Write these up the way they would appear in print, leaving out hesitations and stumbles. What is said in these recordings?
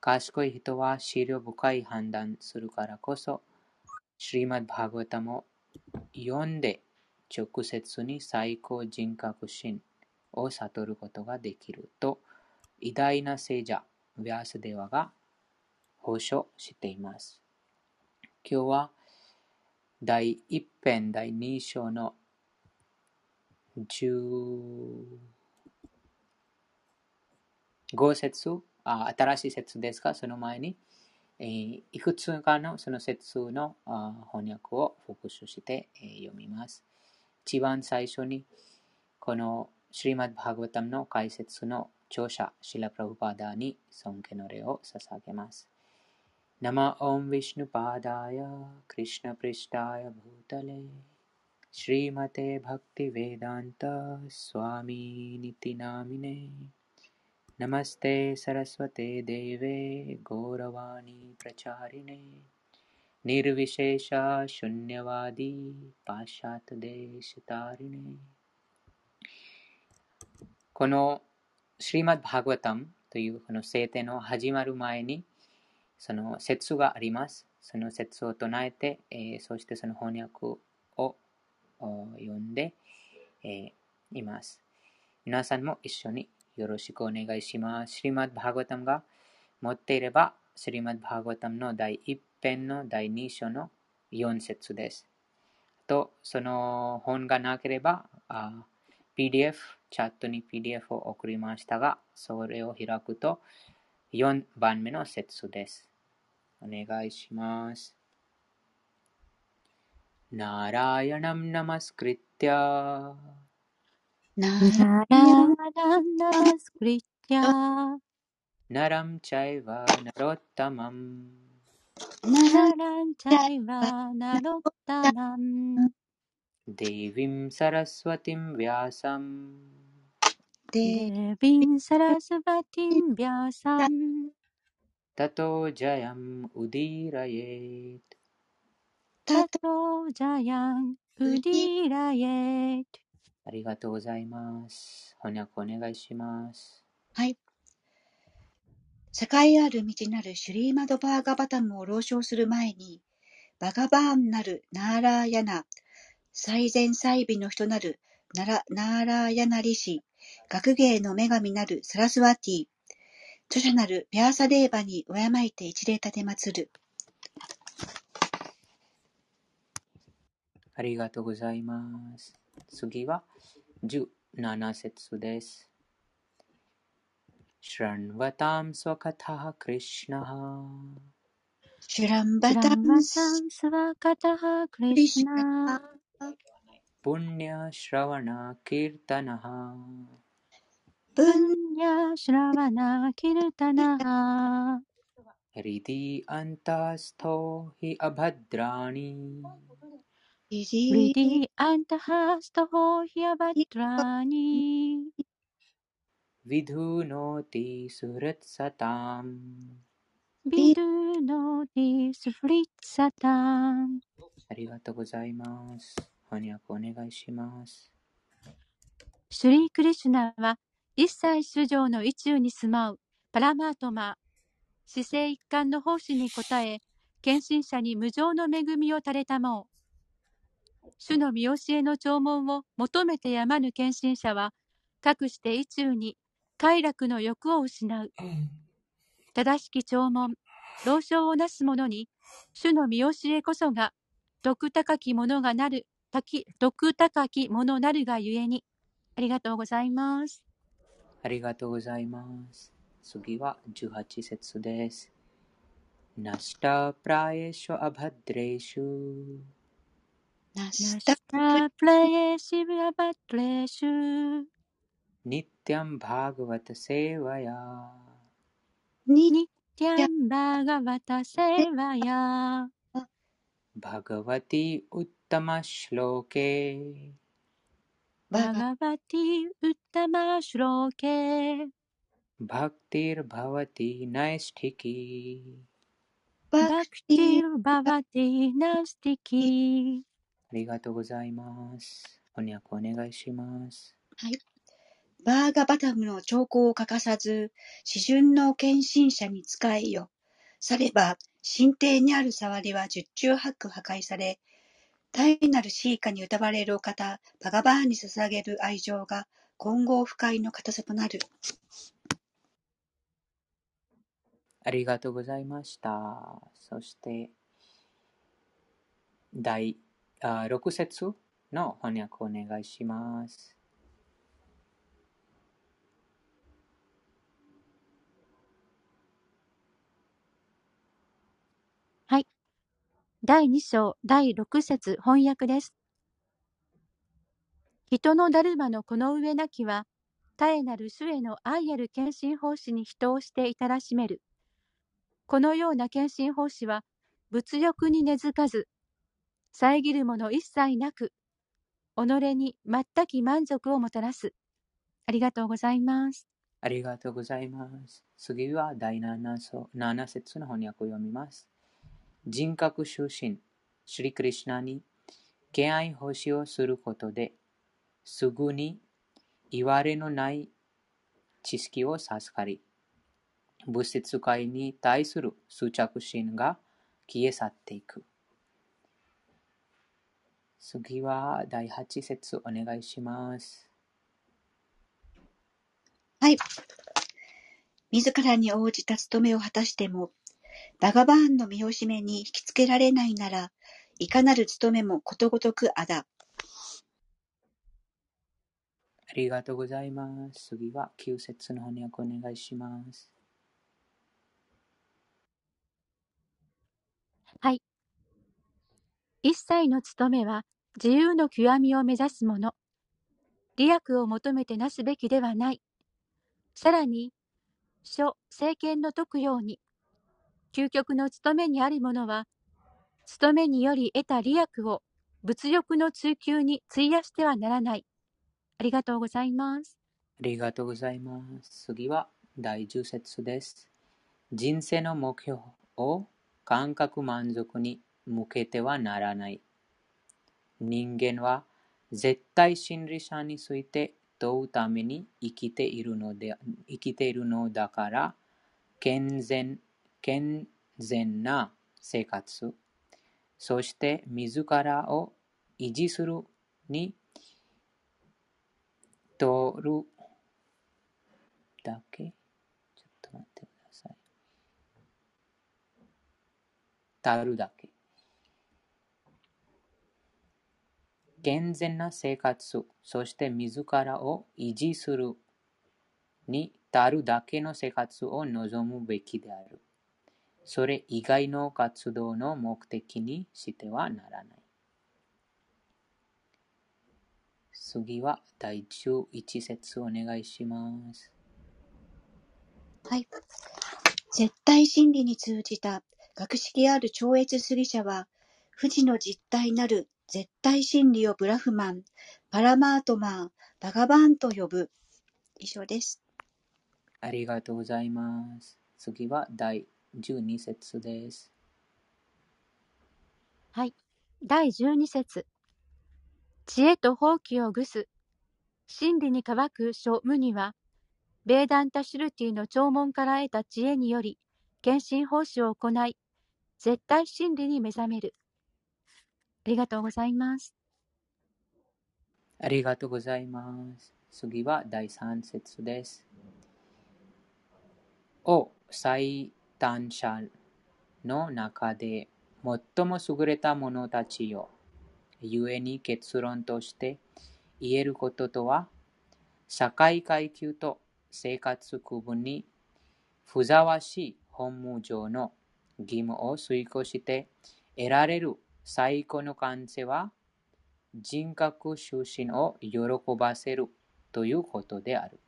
賢い人は思慮深い判断するからこそ、シリマッドバーガバタムを読んで直接に最高人格心を悟ることができると、偉大な聖者、ヴィアスデワが保証しています。今日は第1編第2章の15節、新しい節ですが、その前に、いくつかのその節の翻訳を復習して、読みます。一番最初に、このシリマッドバーガバタムの解説の著者、シラ・プラブパーダーに尊敬の礼を捧げます。ナマオン・ヴィシュヌパーダーヤ、クリシュナ・プリシターヤ・ブータレ、シリマテ・バクティ・ヴェダンタ・スワミ・ニティナミネ、ナマステ・サラスワテ・デーヴェ・ゴーラワニ・プラチャリネ、ニルヴィシェーシャ・シュンニャワディ・パシャタ・デーシタリネ。このシリマッドバーガバタムというこの聖典の始まる前に、その説があります。その説を唱えて、そしてその翻訳を読んで、います。皆さんも一緒によろしくお願いします。シリマッドバーガバタムが持っていれば、シリマッドバーガバタムの第1編の第2章の4節です。と、その本がなければ、PDF、チャットに PDF を送りましたが、それを開くと4番目の節です。お願いします。ナラヤナムナマスクリティアナラナマスクリティアナラムチャイバナロッタマムナランチャイバナロッタマンデーヴィムサラスワティムヴィアサムデービンサラスバティンビャーサンタトジャヤムウディライエタトジャヤンウディライエト。 ありがとうございます。翻訳お願いします。 はい。栄ある道なるシュリーマドバーガバタムを朗唱する前に、バガバーンなるナーラーヤナ、最善最美の人なるナーラーヤナリシ、学芸の女神なるサラスワティ、著者なるビャーサデーバに敬いて一礼立てまつる。 ありがとうございます。次は17節です。シュランワタムスワカタハクリシナハシュランシュバタランバンスタンスワカタハクリクリシシナナプンニャシュラワナキルタナハプブンンニャシュラワナキルタナハリディアンタストヒアバドラニリリデリィアンタハストホヒアバトラニヴィドゥノティスレッサタム。 ビドゥノディスフリッツァタン。 ありがとうございます。翻訳お願いします。 シュリー・クリシュナは一切種上の意中に住まうパラマートマ、至聖一貫の奉仕に応え、献身者に無常の恵みを垂れたもう。主の見教えの弔問を求めてやまぬ献身者は、かくして意中に快楽の欲を失う。正しき弔問、老少をなす者に、主の見教えこそが、徳高きものがなる、徳高きものなるがゆえに。ありがとうございます。 ありがとうございます。次は18節です。ナシタプラエシュアバドレシュナナスタシタプレイシブアバトレシュニッティアンバーガバタセーワヤニニティッャンバーガバタセーバヤバガバティウッタマシュローケバガバティウッタマシュローケバクティルバワティナイスティキバクバクティティルババティナスティキ。 ありがとうございます。翻訳お願いします。 はい。 バーガバタムの兆候を欠かさず、示準の献身者に仕えよ。されば、神帝にある触りは十中八九破壊され、大なるシーカに歌われるお方、バガバーンに捧げる愛情が、金剛不快の固さとなる。 ありがとうございました。そして、第6節の翻訳をお願いします。 はい。第2章第6節翻訳です。人のだるまのこの上なきは、絶えなる主への愛ある献身奉仕に人をしていたらしめる。このような献身奉仕は、物欲に根付かず、遮るもの一切なく、己に全き満足をもたらす。ありがとうございます。 ありがとうございます。次は第7節の翻訳を読みます。人格出身、シュリクリシュナに敬愛奉仕をすることで、すぐにいわれのない知識を授かり、物質界に対する執着心が消え去っていく。次は第8節お願いします。 はい。自らに応じた務めを果たしても、バガバーンの見惜しめに引きつけられないなら、いかなる務めもことごとくあだ。 ありがとうございます。次は9節の翻訳お願いします。 はい。一切の務めは自由の極みを目指すもの。利益を求めてなすべきではない。さらに、諸聖賢の説くように、究極の務めにあるものは、務めにより得た利益を物欲の追求に費やしてはならない。ありがとうございます。 ありがとうございます。次は第10節です。人生の目標を感覚満足に向けてはならない。人間は絶対真理者について問うために生きているのだから、健全な生活、そして自らを維持するにとるだけ。ちょっと待ってください。たるだけ。健全な生活、そして自らを維持するに足るだけの生活を望むべきである。それ以外の活動の目的にしてはならない。次は第11節お願いします。 はい。絶対真理に通じた学識ある超越主義者は、不治の実体なる絶対真理をブラフマン、パラマートマー、バガバーンと呼ぶ。以上です。 ありがとうございます。次は第12節です。 はい。第12節。知恵と法規を具す。真理に乾く諸無には、ベーダンタシュルティの弔問から得た知恵により、献身奉仕を行い、絶対真理に目覚める。ありがとうございます。 ありがとうございます。次は第3節です。お最短者の中で最も優れた者たちよ。故に結論として言えることとは、社会階級と生活区分にふさわしい本務上の義務を遂行して得られる最高の完成は、人格出身を喜ばせるということである。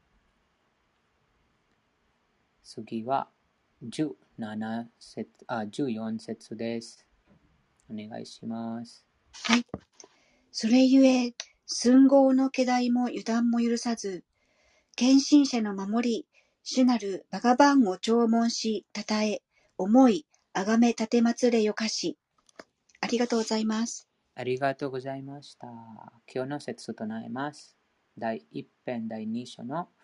次は14節です。お願いします。 はい。それゆえ、寸合の気代も油断も許さず、献身者の守り、主なるバガバンを弔問し、たたえ、思い、あがめ立てまつれよかし。ありがとうございます。 ありがとうございました。今日の説となります。第1編第2章の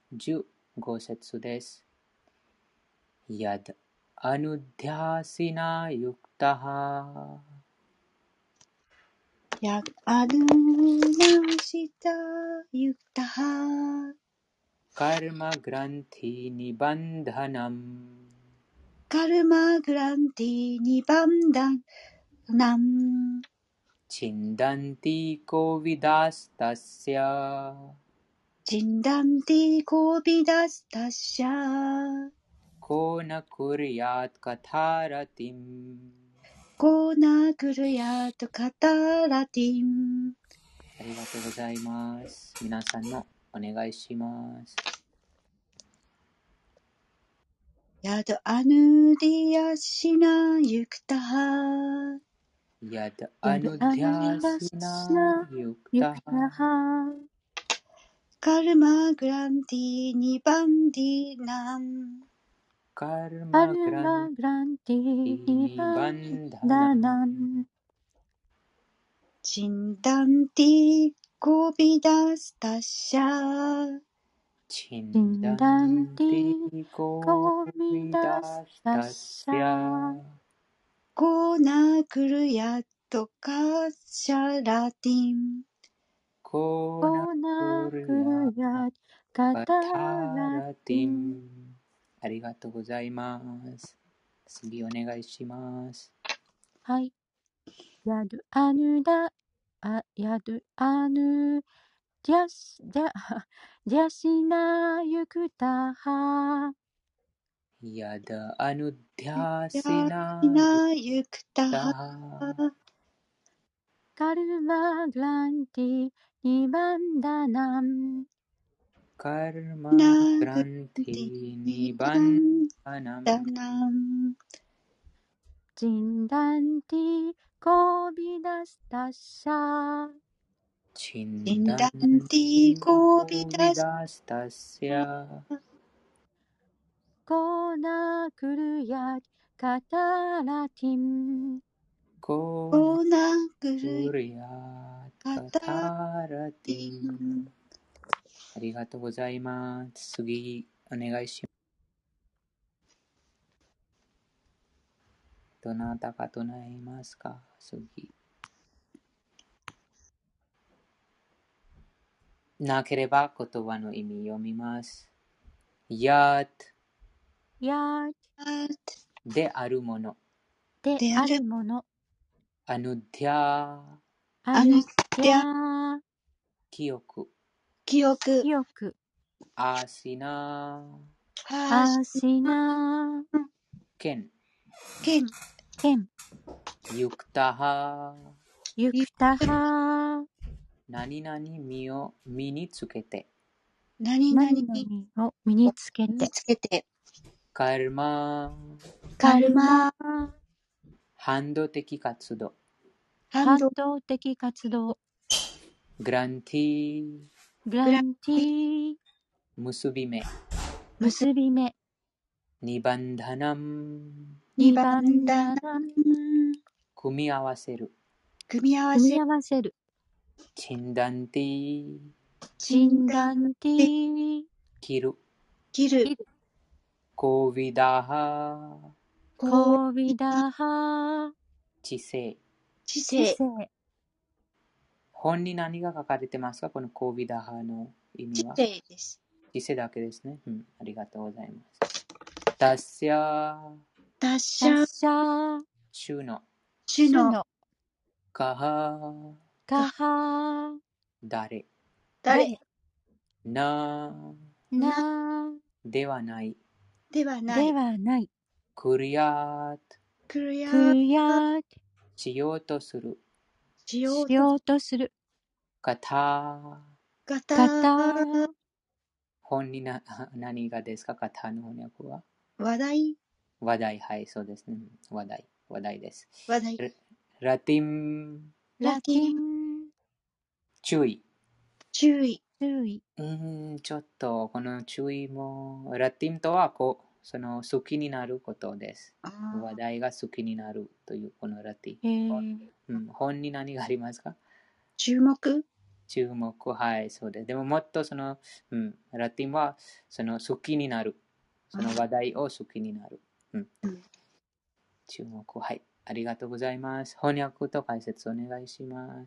15節です。やだアヌディャシナユクタハやアヌナシタユクタハカルマグランティニバンダナムカルマグランティニバンダナムチンダンティコビダスタシャチンダンティコビダスタシャコナクリヤトカタラティムコーナクルヤとカタラティン。 ありがとうございます。皆さんのお願いします。 やだアヌディヤシナユクタハやだやアヌデだアヌィャダシナシナユクユクタハタハカルマグランティニバンディナンカルアマグランルマグランティティニニババンンダダナナンチンダンティコビダスタシャチチンダンダンンテティィココミビダダススタタシシャャコーナクルヤとカシャラティンコナコナククリヤルヤカタカタララティティン。 ン。ありがとうございます。次お願いします。 はい。やるアヌダ、やるアヌ、じゃし、じゃ、じゃしなゆくたは。 やだアヌディャヤシシナユナユクタタハハカルマグランティ、ニバンダナン。 カルマナグラグンテディニィバンバンダナダムナンジンダンティ、コビダスタシャ。 チンジンダンダンティコビコビダスダスタシャコナクルヤカタラティン。 コナコナククルリヤカカタタラテティィンン。ありがとうございます。次お願いします。どなたか唱えますか？次。なければ言葉の意味読みます。ややであるもの。 であであるるもの。 アヌディアアヌアヌデディアャー、 記憶。 記憶記憶。 アシナハーシアシナケンケンケン。 ユクタハユクタハ何々身につけて何々 何に 々を身につけ身にて。 つけてカルマカルマ反動的活動反動反動的活動。 グランティグランティー、 結び目結び目。 ニバンダナム二番ニバンダナダナン。 組み合わせる組み合わ組みせ合わせる。 チンダンティチンダンティー、 切る切る切る。 コビダハこうコビダハ知性知知性性。 本に何が書かれてますか？このコビダハの意味知は性です知性だけですね。ありがとうございます。ダッシャ達者達者。 主の主のカハカハ誰誰ななではないではなでいはない。 クリアクリアクヤしようとするしようとしようとする。 カタカ方タ本に何がですか？カタの翻訳は話題話題。はい、そうですね。話題です。 話題ラティンラティン注意注意注意。 ちょっとこの注意もラティンとはその好きになることです。話題が好きになるというこのラティン、本に何がありますか？ 注目注目、はい、そうです。でももっとラテンは好きになる。その話題を好きになる。注目、はい。ありがとうございます。翻訳と解説お願いします。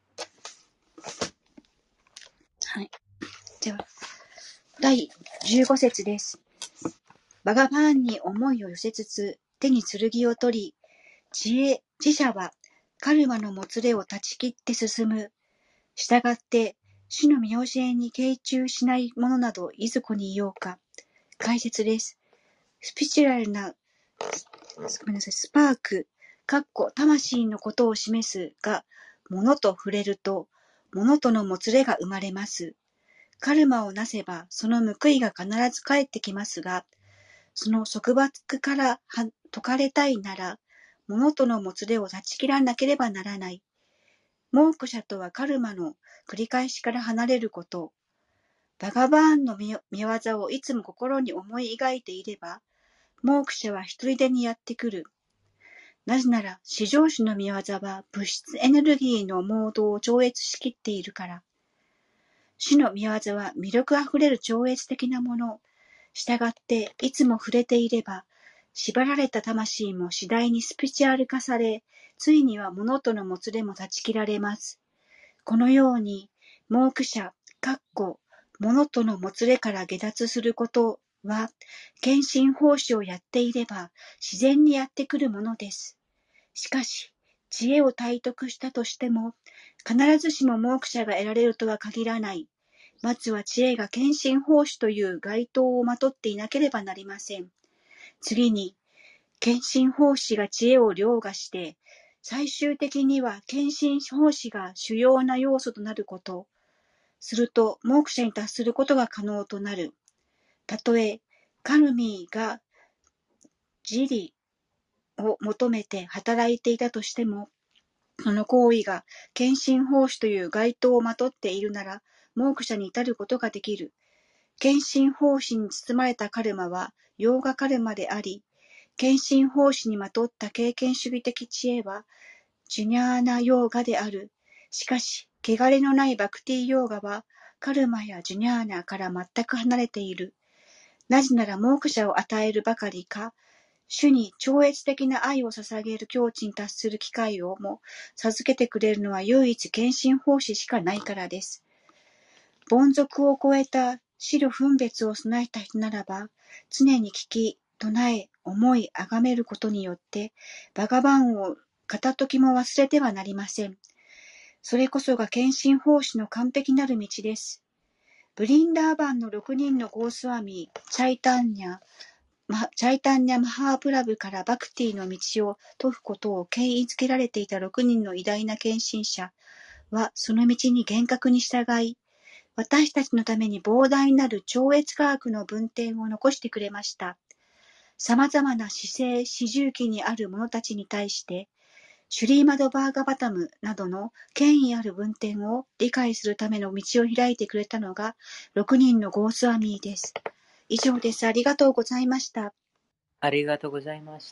はい。では、第15節です。バガバーンに思いを寄せつつ、手に剣を取り、知者はカルマのもつれを断ち切って進む。したがって、主の見教えに傾注しない者などいずこにいようか。解説です。スピチュアルな、スパーク、魂のことを示すが、物と触れると、物とのもつれが生まれます。カルマをなせば、その報いが必ず返ってきますが、その束縛から解かれたいなら、物とのもつれを断ち切らなければならない。モークシャとはカルマの繰り返しから離れること。バガバーンの見業をいつも心に思い描いていれば、モークシャは一人でにやってくる。なぜなら、至上主の見業は物質エネルギーのモードを超越しきっているから。主の見業は魅力あふれる超越的なもの。したがって、いつも触れていれば、縛られた魂も次第にスピチュアル化され、ついには物とのもつれも断ち切られます。このように、モークシャ、物とのもつれから下脱することは、献身奉仕をやっていれば、自然にやってくるものです。しかし、知恵を体得したとしても、必ずしもモークシャが得られるとは限らない。まずは知恵が献身奉仕という該当をまとっていなければなりません。次に、献身奉仕が知恵を凌駕して、最終的には献身奉仕が主要な要素となること。すると、モークシャに達することが可能となる。たとえ、カルミーが自利を求めて働いていたとしても、その行為が献身奉仕という該当をまとっているなら、モークシャに至ることができる。献身奉仕に包まれたカルマは、ヨーガカルマであり、献身奉仕にまとった経験主義的知恵は、ジュニャーナヨーガである。しかし、汚れのないバクティヨーガは、カルマやジュニャーナから全く離れている。なぜなら、モークシャを与えるばかりか、主に超越的な愛を捧げる境地に達する機会をも授けてくれるのは唯一献身奉仕しかないからです。凡俗を超えた思慮分別を備えた人ならば、常に聞き、唱え、思い、崇めることによって、バガバンを片時も忘れてはなりません。それこそが献身奉仕の完璧なる道です。ブリンダーバンの6人のゴースワミー、チャイタンニャ・マハープラブからバクティの道を説くことを権威づけられていた6人の偉大な献身者は、その道に厳格に従い、私たちのために膨大なる超越科学の文典を残してくれました。様々な姿勢、四重期にある者たちに対して、シュリーマドバーガバタムなどの権威ある文典を理解するための道を開いてくれたのが6人のゴースワミーです。以上です。ありがとうございました。 ありがとうございました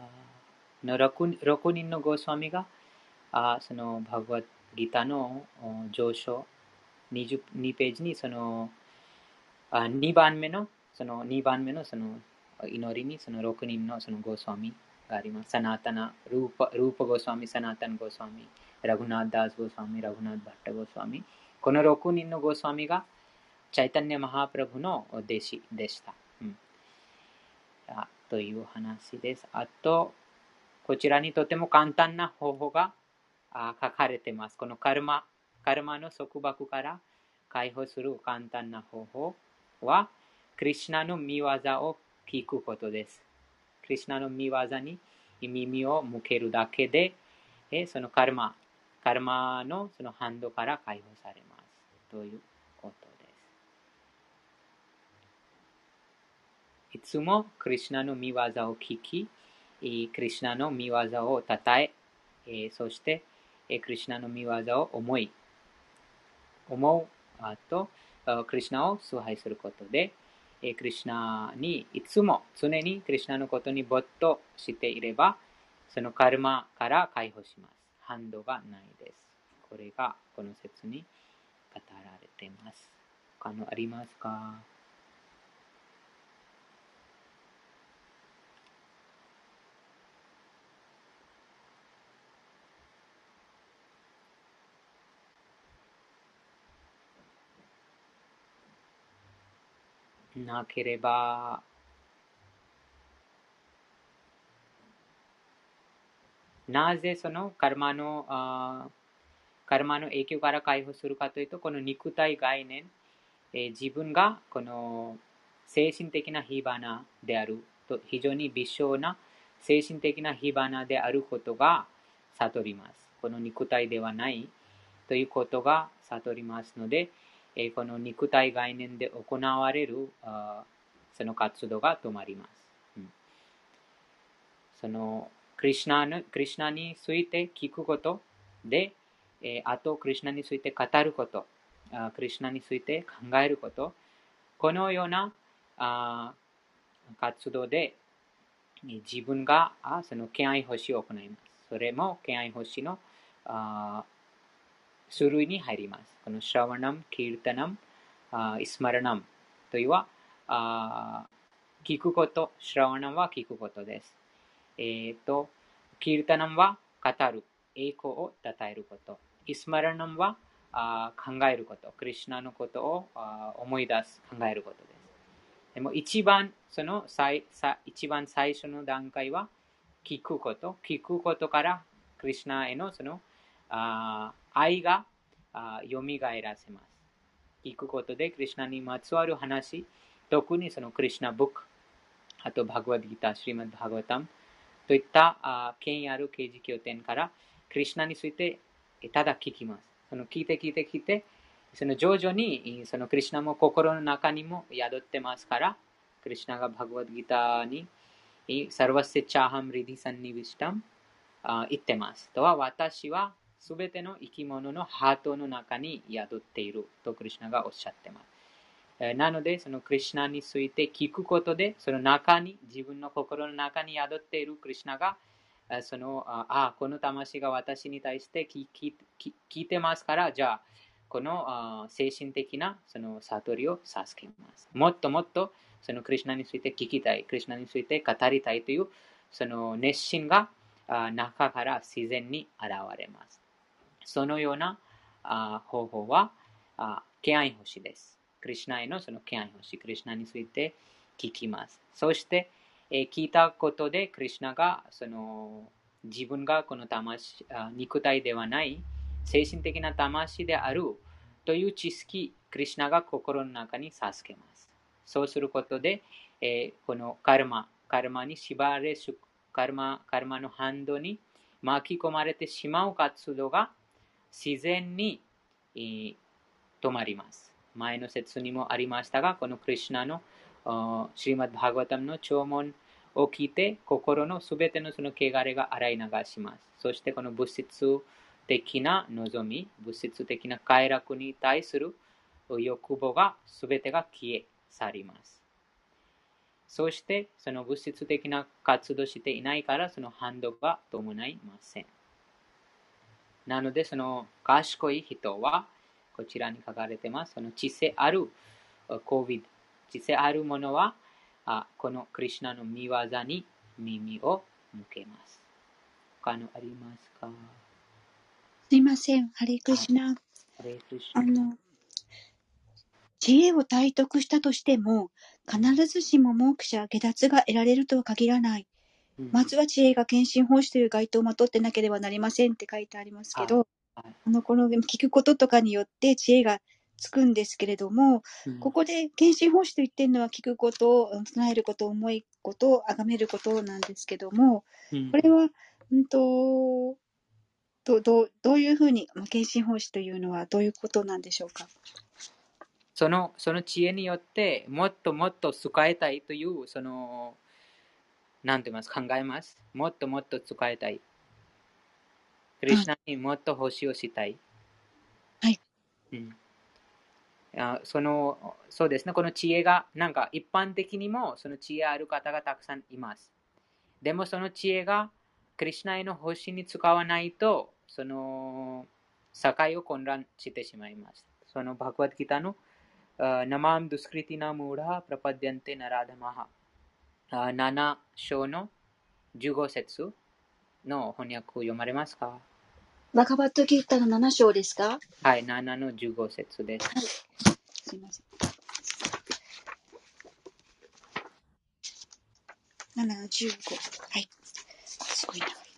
。6人のゴスワミが、そのバグワッドギターの上昇22ページに2番目の祈りにその6人のそのゴスワミがあります。サナタナ、ルーパゴスワミ、サナタンゴスワミ、ラグナーダースゴスワミ、ラグナーバッタゴスワミ。この6人のゴスワミがチャイタンニャマハプラブの弟子でした。という話です。あと、こちらにとても簡単な方法が書かれています。このカルマの束縛から解放する簡単な方法は、クリシュナの見業を聞くことです。クリシュナの見業に耳を向けるだけで、そのカルマのそのハンドから解放されます。ということです。いつもクリシュナの見業を聞き、クリシュナの見業をたたえ、そしてクリシュナの見業を思うと、クリシュナを崇拝することで、クリシュナにいつも常にクリシュナのことに没頭していれば、そのカルマから解放します。ハンドがないです。これがこの説にられています。他のありますか？なければ、なぜそのカルマの影響から解放するかというと、この肉体概念、自分がこの精神的な火花であると、非常に微小な精神的な火花であることが悟ります。この肉体ではないということが悟りますので、この肉体概念で行われるその活動が止まります。そのクリシナについて聞くことで、あとクリシナについて語ること、クリシナについて考えること、このような活動で自分がその敬愛星を行います。それも敬愛星の種類に入ります。このシャワナム、キルタナム、イスマラナムというは聞くこと、シャワナムは聞くことです。キルタナムは語る、栄光を称えること。イスマラナムは考えること、クリシュナのことを思い出す、考えることです。でも一番最初の段階は聞くこと。聞くことからクリシュナへのその愛が蘇らせます。聞くことでクリシュナにまつわる話、特にそのクリシュナブック、あとバグワッドギター、シリマッド・バグワタムといった権威ある刑事経典からクリシュナについてただ聞きます。その聞いて、その徐々にそのクリシュナも心の中にも宿ってますから、クリシュナがバグワッドギターにサルワセチャーハムリディサンニビシタム言ってます。とは私はすべての生き物のハートの中に宿っているとクリシュナがおっしゃってます。なので、そのクリシュナについて聞くことで、その中に、自分の心の中に宿っているクリシュナが、この魂が私に対して聞いてますから、じゃあ、この精神的なその悟りを授けます。もっともっとそのクリシュナについて聞きたい、クリシュナについて語りたいというその熱心が中から自然に現れます。そのような方法は敬愛星です。クリシュナへのその敬愛星、クリシュナについて聞きます。そして、聞いたことでクリシュナがその自分がこの魂、肉体ではない精神的な魂であるという知識、クリシュナが心の中に授けます。そうすることで、このカルマに縛れしカルマの反動に巻き込まれてしまう活動が自然に止まります。前の説にもありましたが、このクリシュナのシリマッド・バグワタムの聴聞を聞いて、心のすべてのその汚れが洗い流します。そしてこの物質的な望み、物質的な快楽に対する欲望がすべてが消え去ります。そして、その物質的な活動していないから、その反動が伴いません。なので、その賢い人は、こちらに書かれています。その知性ある知性あるものは、このクリシュナの見業に耳を向けます。他のありますか？ すいません。ハレクリシュナ。 ハレクリシュナ。 知恵を体得したとしても、必ずしもモークシャ、下脱が得られるとは限らない。まずは知恵が献身奉仕という該当をまとってなければなりませんって書いてありますけど、この聞くこととかによって知恵がつくんですけれども、ここで献身奉仕と言ってるのは聞くことを、唱えること、思いことを崇めることなんですけども、これは、どういうふうに、献身奉仕というのはどういうことなんでしょうか。 その知恵によってもっともっと使いたいというなんて言います考えます。もっともっと使いたい。クリシュナにもっと奉仕をしたい。 はい。 そうですね。この知恵がなんか一般的にもその知恵ある方がたくさんいます。でもその知恵がクリシュナへの奉仕に使わないとその境を混乱してしまいます。 そのバグワッドギータのナマムドゥスクリティナムーラプラパディアンテナラダマハ7章の15節の翻訳を読まれますか？ バガバットギータの7章ですか？ はい、7の15節です。 はい。すいません。7の15。はい。すごい長い。はい。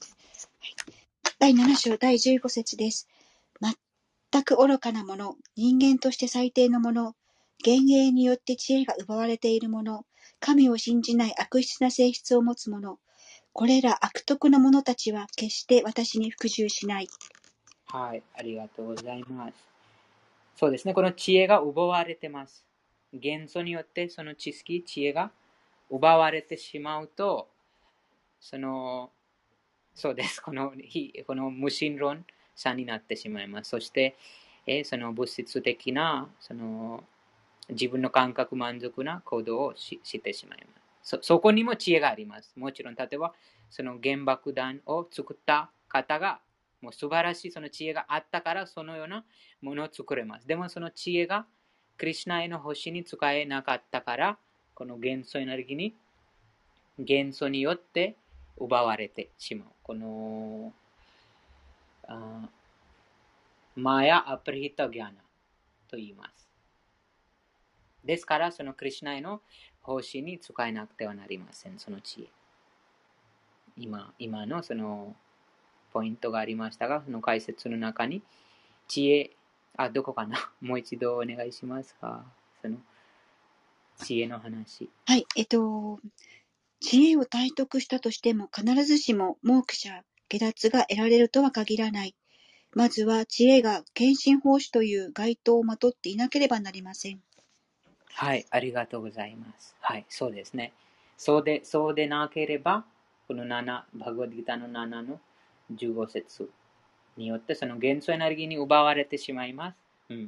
第7章第15節です。全く愚かなもの、人間として最低のもの、幻影によって知恵が奪われているもの、神を信じない悪質な性質を持つ者、これら悪徳な者たちは決して私に服従しない。 はい、ありがとうございます。そうですね、この知恵が奪われてます。元素によってその知識、知恵が奪われてしまうと、そうです、この無神論さになってしまいます。そして、その物質的な自分の感覚満足な行動をしてしまいます。そこにも知恵があります。もちろん、例えば、その原爆弾を作った方が、もう素晴らしいその知恵があったから、そのようなものを作れます。でも、その知恵が、クリシュナへの星に使えなかったから、この元素エネルギーに、元素によって奪われてしまう。この、マヤアプリヒタギャナと言います。ですから、そのクリシュナへの星に使えなくてはなりません、その知恵。今のそのポイントがありましたが、その解説の中に、知恵、どこかなもう一度お願いしますか。その知恵の話。 はい。知恵を体得したとしても、必ずしもモークシャ、下脱が得られるとは限らない。まずは知恵が献身奉仕という該当をまとっていなければなりません。 はい、ありがとうございます。はい、そうですね。そうでなければ、この7、バグワッドギータの7の15節によって、その元素エネルギーに奪われてしまいます。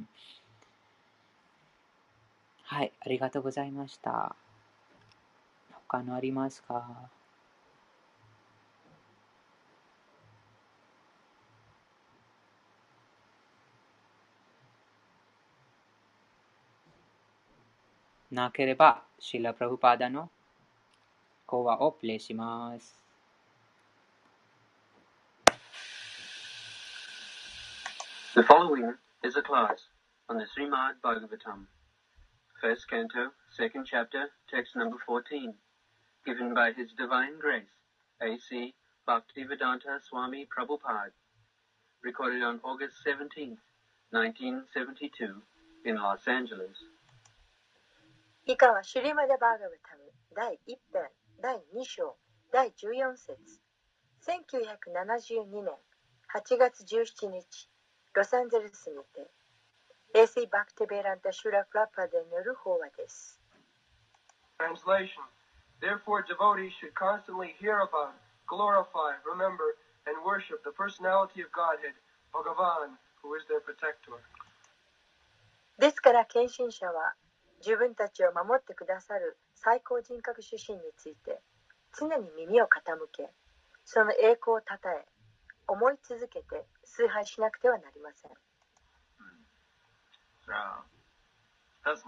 はい、ありがとうございました。他のありますか？なければ、シーラ・プラブパーダの講話をプレイします。 The following is a class on the Srimad Bhagavatam, First Canto, Second Chapter, Text number 14, given by His Divine Grace, A.C. Bhaktivedanta Swami Prabhupada, recorded on August 17th, 1972, in Los Angeles. 以下はシュリマダ・バーガバタム第1編第2章第14節1972年8月17日ロサンゼルスにてA.C. Bhaktivedanta Srila Prabhupadaによる法話です。 Translation. Therefore, devotees should constantly hear about, glorify, remember, and worship the personality of Godhead, Bhagavan, who is their protector. ですから献身者は自分たちを守ってくださる最高人格主神について常に耳を傾け、その栄光をたたえ、思い続けて崇拝しなくてはなりません。 Tasmat,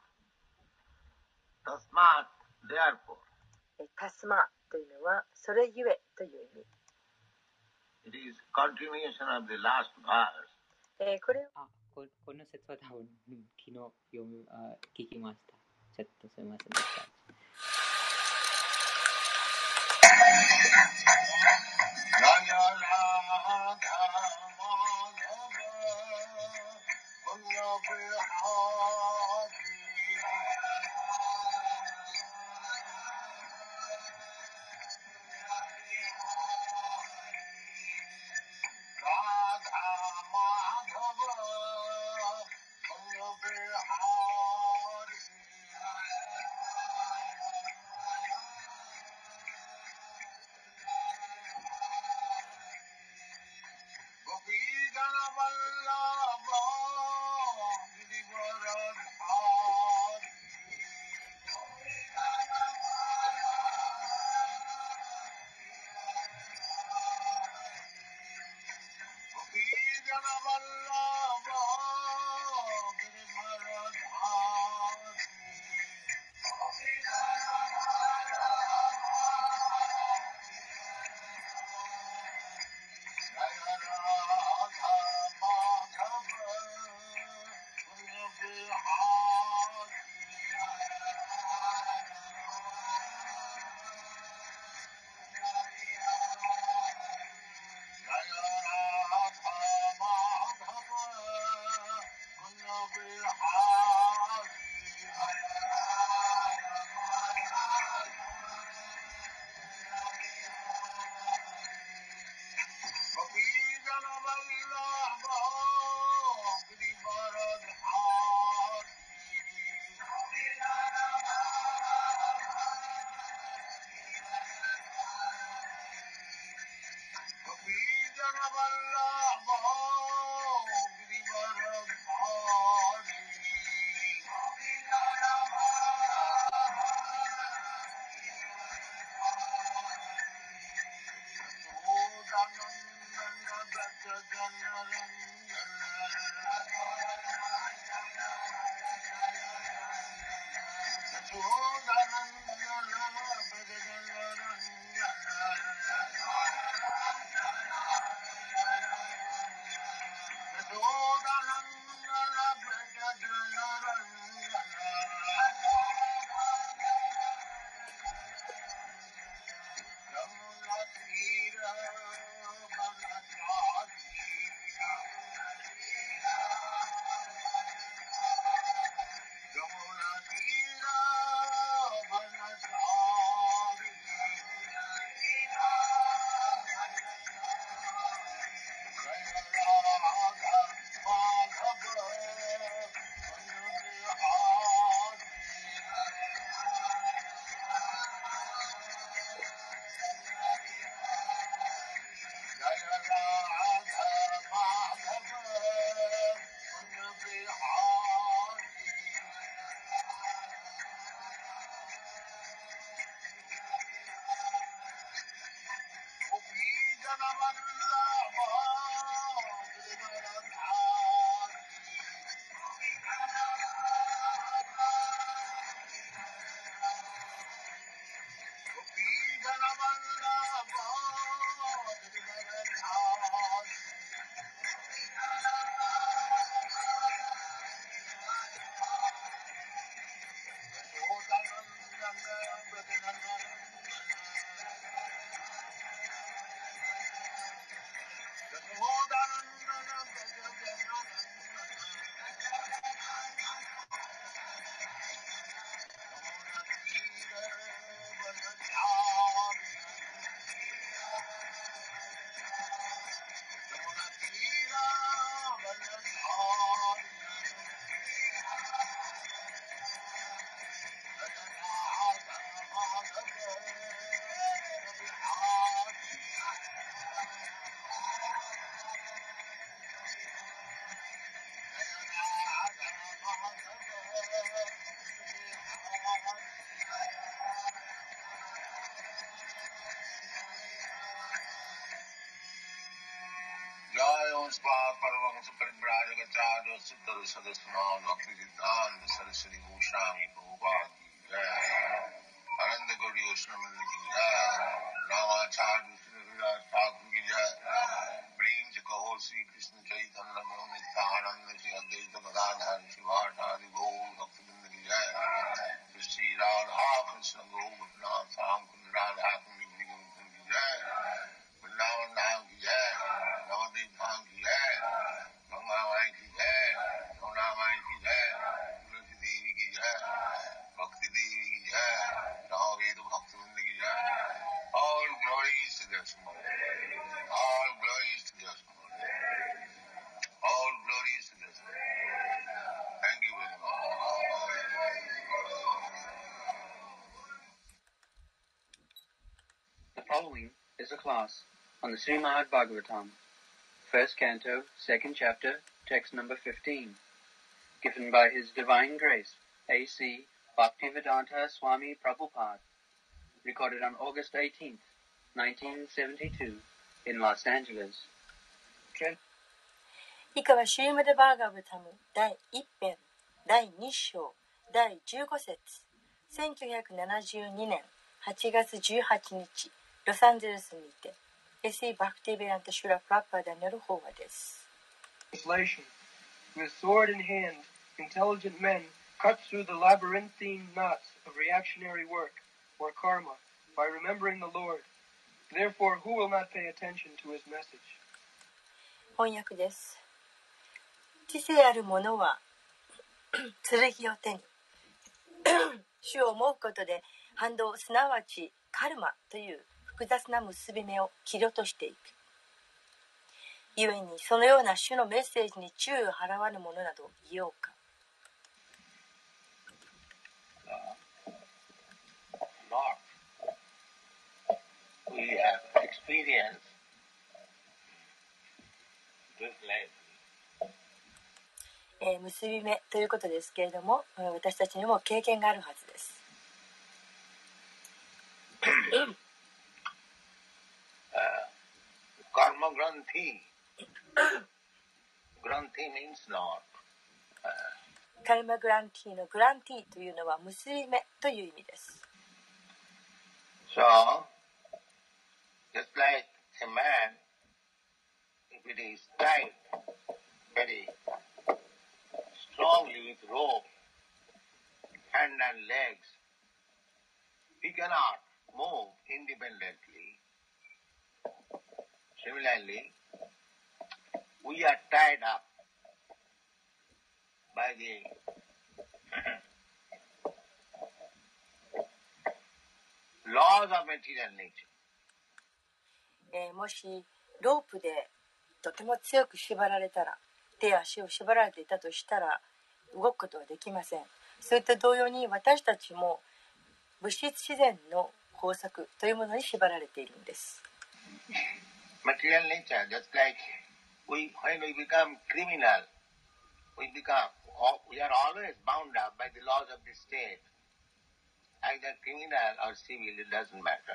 therefore. タスマというのはそれゆえという意味。 It is continuation of the last verse. これこの説は多分、昨日聞きました。ちょっとすみませんでした。 The following is a class on the Srimad Bhagavatam, first canto, second chapter, text number 15, given by His Divine Grace, A.C. Bhaktivedanta Swami Prabhupada, recorded on August 18th, 1972, in Los Angeles. 以下はシューマダバーガブタム第1編第2章第15節1972年8月18日ロサンゼルスにて S.E. バクティベランタ・シュラ・プラッパーダによる法話です。 Translation. With sword in hand, intelligent men cut through the labyrinthine knots of reactionary work, or karma, by remembering the Lord. Therefore, who will not pay attention to his message? 翻訳です。知性ある者は剣を手に主を思うことで反動すなわちカルマという複雑な結び目を切り落としていく。故にそのような主のメッセージに注意を払わぬ者などいようか。 We have experienced 結び目ということですけれども、私たちにも経験があるはずです。 Karma Granthi. Granthi means not. カルマグランティのグランティというのは結び目という意味です。 So, just like a man, if it is tied very strongly with rope, hand and legs, he cannot move independently. Similarly, we are tied up by the laws of material nature. もしロープでとても強く縛られたら、手や足を縛られていたとしたら動くことはできません。そういった同様に私たちも物質自然の法則というものに縛られているんです。 Material nature, just like when we become criminal, we are always bound up by the laws of the state. Either criminal or civil, it doesn't matter.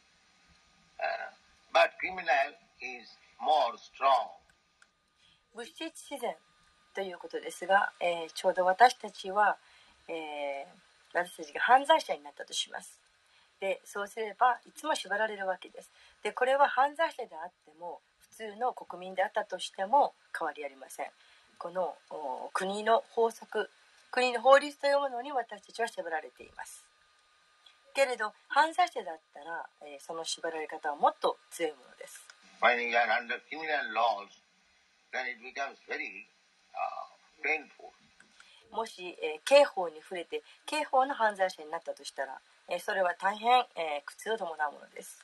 But criminal is more strong. 物質自然ということですが、ちょうど私たちは、私たちが犯罪者になったとします。で、そうすればいつも縛られるわけです。で、これは犯罪者であっても普通の国民であったとしても変わりありません。この国の法則、国の法律というものに私たちは縛られています。けれど犯罪者だったら、その縛られ方はもっと強いものです。 When you are under criminal laws, then it becomes very painful. もし、刑法に触れて刑法の犯罪者になったとしたら、それは大変、苦痛を伴うものです。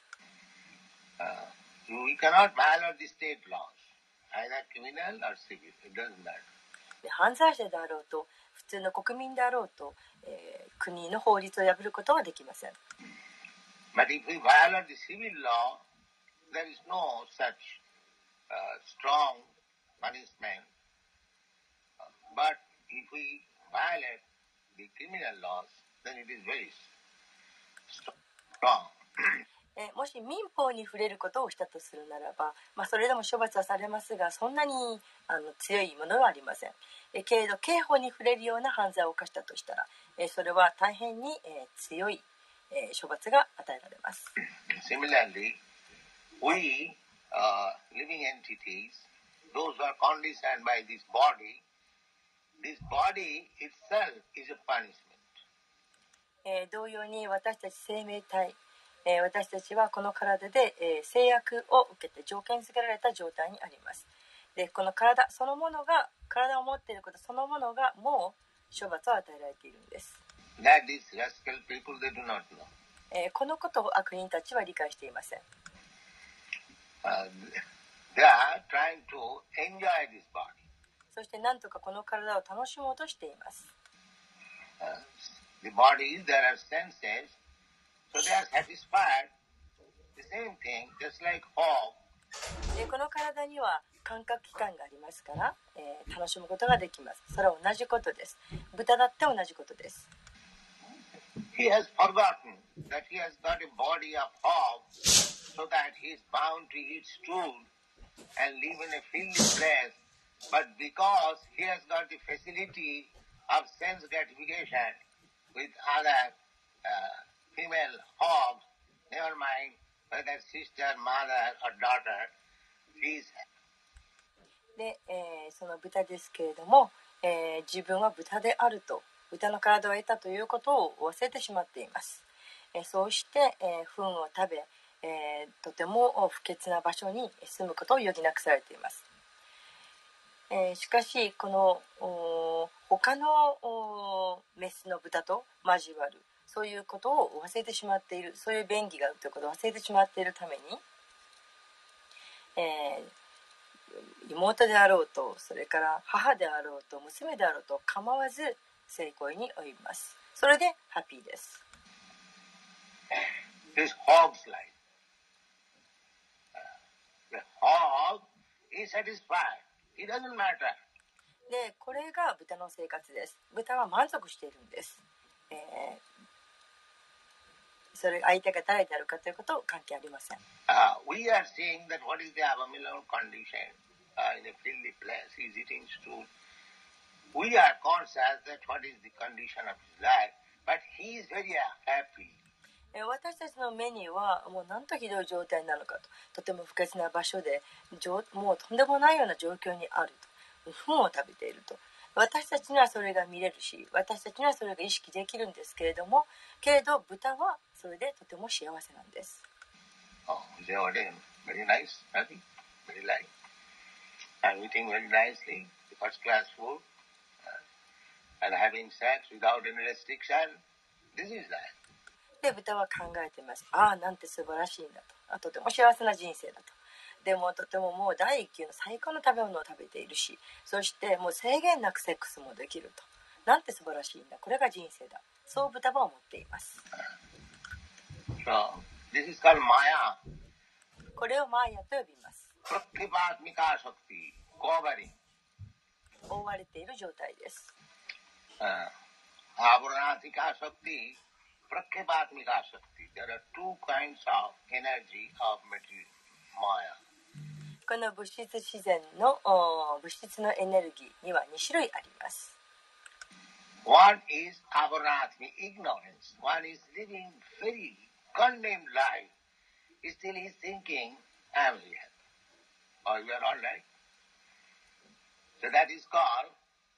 We cannot violate the state laws, either criminal or civil. It doesn't matter. 犯罪者であろうと普通の国民であろうと、国の法律を破ることはできません。 But if we violate the civil law, there is no such strong punishment. But if we violate the criminal laws, then it is very strong. もし民法に触れることをしたとするならば、それでも処罰はされますが、そんなに強いものはありません。けれど刑法に触れるような犯罪を犯したとしたら、それは大変に、強い、処罰が与えられます。 Similarly, we living entities, those who are conditioned by this body itself is a punishment. 同様に私たち生命体、私たちはこの体で、制約を受けて条件付けられた状態にあります。で、この体そのものが、体を持っていることそのものがもう処罰を与えられているんです。 That is rascal people, they do not know. このことを悪人たちは理解していません。 They are trying to enjoy this body. そして何とかこの体を楽しもうとしています。 The bodies, there are senses, so they are satisfied. The same thing, just like hog. この体には感覚器官がありますから、楽しむことができます。それは同じことです。豚だって同じことです。 He has forgotten that he has got a body of hog, so that he is bound to eat stool and live in a filthy place. But because he has got the facility of sense gratification with other female hogs, never mind whether sister, mother or daughter, he is. で、その豚ですけれども、自分は豚であると、豚の体を得たということを忘れてしまっています。そうして、糞を食べ、とても不潔な場所に住むことを余儀なくされています。しかしこの他のメスの豚と交わる、そういうことを忘れてしまっている、そういう便宜があるということを忘れてしまっているために、妹であろうと、それから母であろうと、娘であろうと構わず性行為に及びます。それでハッピーです。 This hog's life. The hog is satisfied It doesn't matter. で、これが豚の生活です。豚は満足しているんです。それ相手が誰であるかということ関係ありません。 We are seeing that what is the abominable condition in a filthy place. He is eating stool. We are conscious that what is the condition of his life, but he is very happy. 私たちの目にはもうなんとひどい状態なのかと、とても不潔な場所でもうとんでもないような状況にあると、糞を食べていると、私たちにはそれが見れるし、私たちにはそれが意識できるんですけれども、豚はそれでとても幸せなんです。 Very nice, happy, very light. I'm eating very nicely, first class food, and having sex without any restriction. This is life. で、豚は考えています。ああ、なんて素晴らしいんだと。とても幸せな人生だと。でもとてももう第一級の最高の食べ物を食べているし、そしてもう制限なくセックスもできると。なんて素晴らしいんだ。これが人生だ。そう豚は思っています。 So, this is called Maya. これをマーヤと呼びます。 Prakripaatmika Shakti, covering. 覆われている状態です。 Avaranatika Shakti.Prakripaatmika Shakti. There are two kinds of energy of material, Maya. この物質自然の物質のエネルギーには2種類あります。 One is Avaranaatmi, ignorance. One is living very condemned life. Still he is thinking, I am here. Or we are all right. So that is called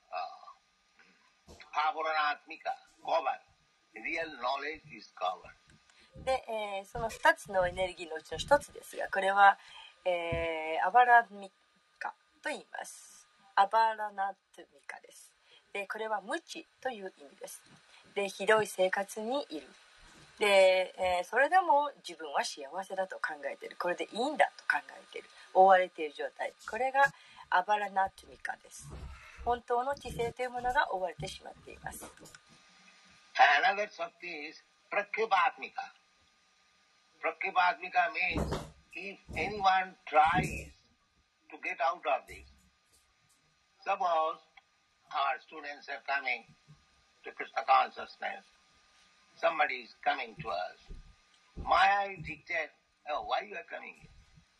Avaranaatmika, cover. Real knowledge is cover. で、その2つのエネルギーのうちの1つですが、これは、アバラミカと言います。アバラナトミカです。で、これは無知という意味です。で、ひどい生活にいる。で、それでも自分は幸せだと考えている。これでいいんだと考えている。覆われている状態。これがアバラナトミカです。本当の知性というものが覆われてしまっています。 Another Shakti is Prakripaatmika. Prakripaatmika means if anyone tries to get out of this, suppose our students are coming to Krishna consciousness, somebody is coming to us, Maya is dictated, oh, why you are coming here?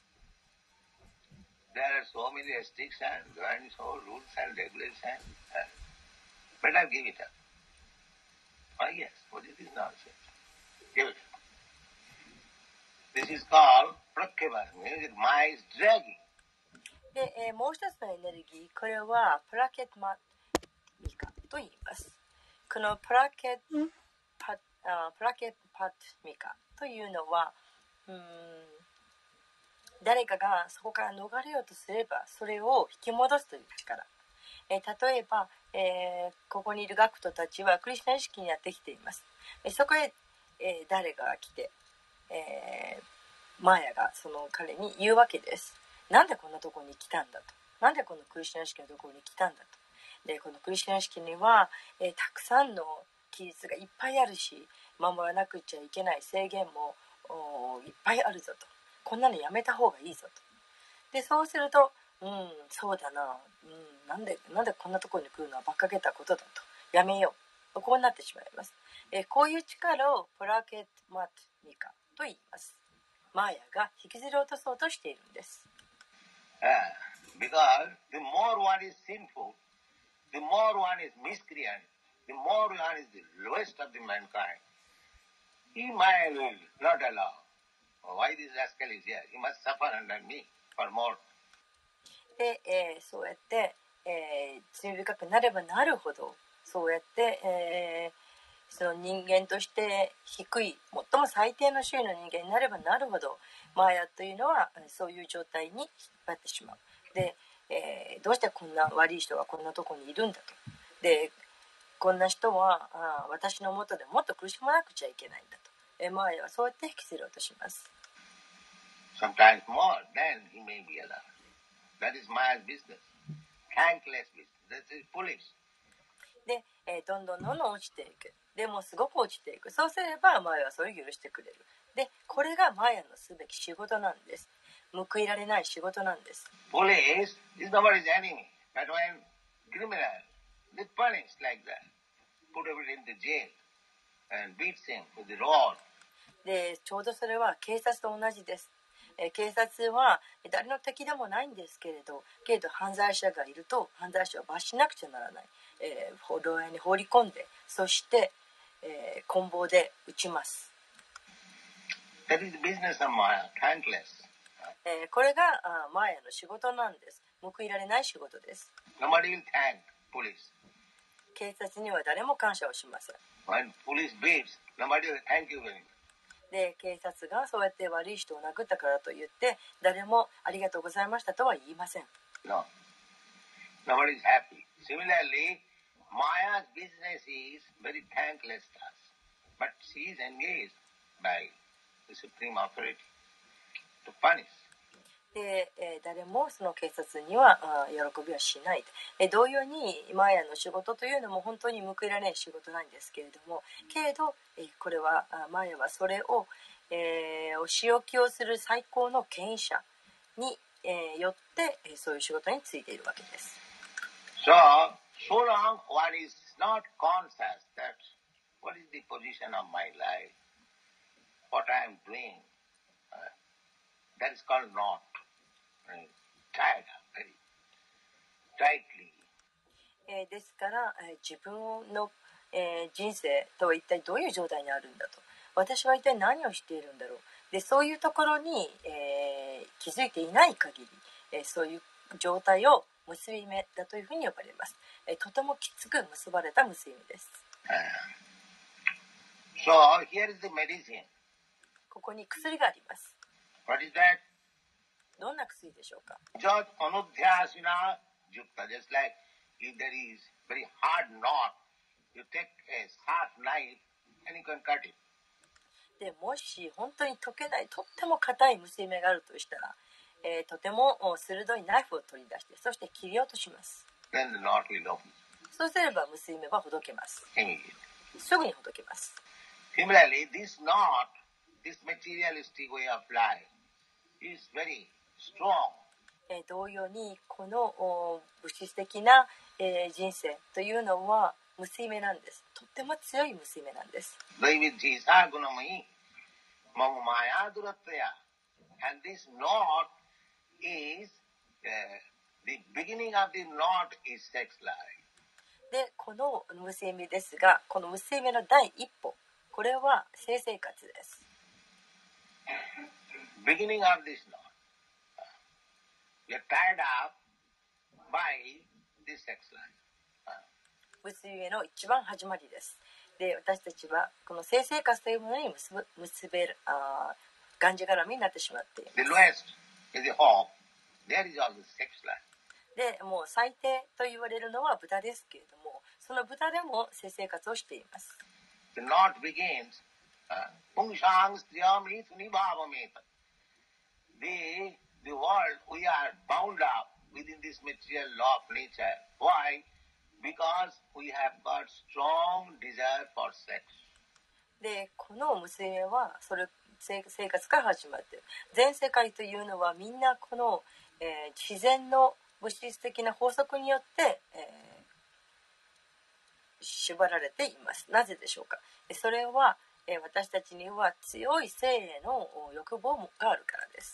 There are so many restrictions, there are so rules and regulations. Better give it up. Oh yes, what is this nonsense? Give it up. This is called Prakripaatmika. Maya is dragging. で、もう一つのエネルギー、これはプラケットマミカと言います。このプラケットパミカというのは、誰かがそこから逃れようとすればそれを引き戻すという力。例えば、ここにいる学徒たちはクリシュナ意識にやってきています。そこへ、誰かが来て、マーヤがその彼に言うわけです。なんでこんなところに来たんだと。なんでこのクリシュナ意識のところに来たんだと。で、このクリシュナ意識には、たくさんの規律がいっぱいあるし、守らなくちゃいけない制限もいっぱいあるぞと。こんなのやめた方がいいぞと。で、そうすると、そうだな、なんでこんなところに来るのは馬鹿げたことだと。やめよう。こうなってしまいます。こういう力をプラケットマトミカと言います。マーヤが引きずり落とそうとしているんです。 Because the more one is sinful, the more one is miscreant, the more one is the lowest of the mankind. He might will not allow. Why this rascal is here? He must suffer under me for more. で、そうやって、罪深くなればなるほど、そうやって、その人間として低い、最も最低の種類の人間になればなるほど、マーヤというのはそういう状態に引っ張ってしまう。で、どうしてこんな悪い人がこんなとこにいるんだと。で、こんな人は私の元でもっと苦しまなくちゃいけないんだと。マーヤはそうやって引きずり落とします。 Sometimes more, then he may be allowed. That is Maya's business. Thankless business. That is foolish. で、どんどん落ちていく。でもすごく落ちていく。そうすればマーヤはそれを許してくれる。 で、これがマヤのすべき仕事なんです。報いられない仕事なんです。 Police is nobody's enemy. But when criminal, they punish like that. Put everybody in the jail and beats him with the rod. で、ちょうどそれは警察と同じです。警察は誰の敵でもないんですけれど、犯罪者がいると犯罪者を罰しなくちゃならない。牢屋に放り込んで、そして、棍棒で撃ちます。 That is the business of Maya, thankless. これがマヤの仕事なんです。報いられない仕事です。 Nobody will thank police. 警察には誰も感謝をしません。 When police beats, nobody will thank you very much. で、警察がそうやって悪い人を殴ったからといって誰もありがとうございましたとは言いません。 No. Nobody is happy. Similarly, Maya's business is very thankless task. But she is engaged by the supreme authority to punish. で、誰もその警察には喜びはしない。同様にマヤの仕事というのも本当に報いられない仕事なんですけれども、これはマヤはそれを、お仕置きをする最高の権威者に、よってそういう仕事についているわけです。 So long one is not conscious that what is the position of my life, what I am doing, that is called not. Tied up very tightly. ですから、自分の、人生とは一体どういう状態にあるんだと、私は一体何をしているんだろう、でそういうところに、気づいていない限り、そういう状態を結び目だというふうに呼ばれます。とてもきつく結ばれた結び目です。 So here is the medicine. ここに薬があります。 What is that? どんな薬でしょうか。 Just anudhyasina yukta, just like if there is very hard knot, you take a sharp knife and you can cut it. でもし本当に解けないとっても硬い結び目があるとしたら、とても鋭いナイフを取り出してそして切り落とします。 Then the knot will open. そうすれば結び目はほどけます。 Immediately. すぐにほどけます。 Similarly, this knot, this materialistic way of life is very strong. 同様にこの物質的な、人生というのは結び目なんです。とっても強い結び目なんです。 And this knot is the beginning of the knot is sex life. で、この結び目ですが、この結び目の第一歩、これは性生活です。 Beginning of this knot. We are tied up by this sex life. 結び目の一番始まりです。で、私たちはこの性生活というものに結べるがんじがらみになってしまっています。 The lowest is the hog. There is all the sex life. で、もう最低と言われるのは豚ですけれども、その豚でも性生活をしています。 The knot begins. Pungsang striyam ithuni bhavameta. The world, we are bound up within this material law of nature. Why? Because we have got strong desire for sex. で、この結び目は生活から始まっている。全世界というのはみんなこの、自然の物質的な法則によって、縛られています。なぜでしょうか。それは、私たちには強い性への欲望があるからです。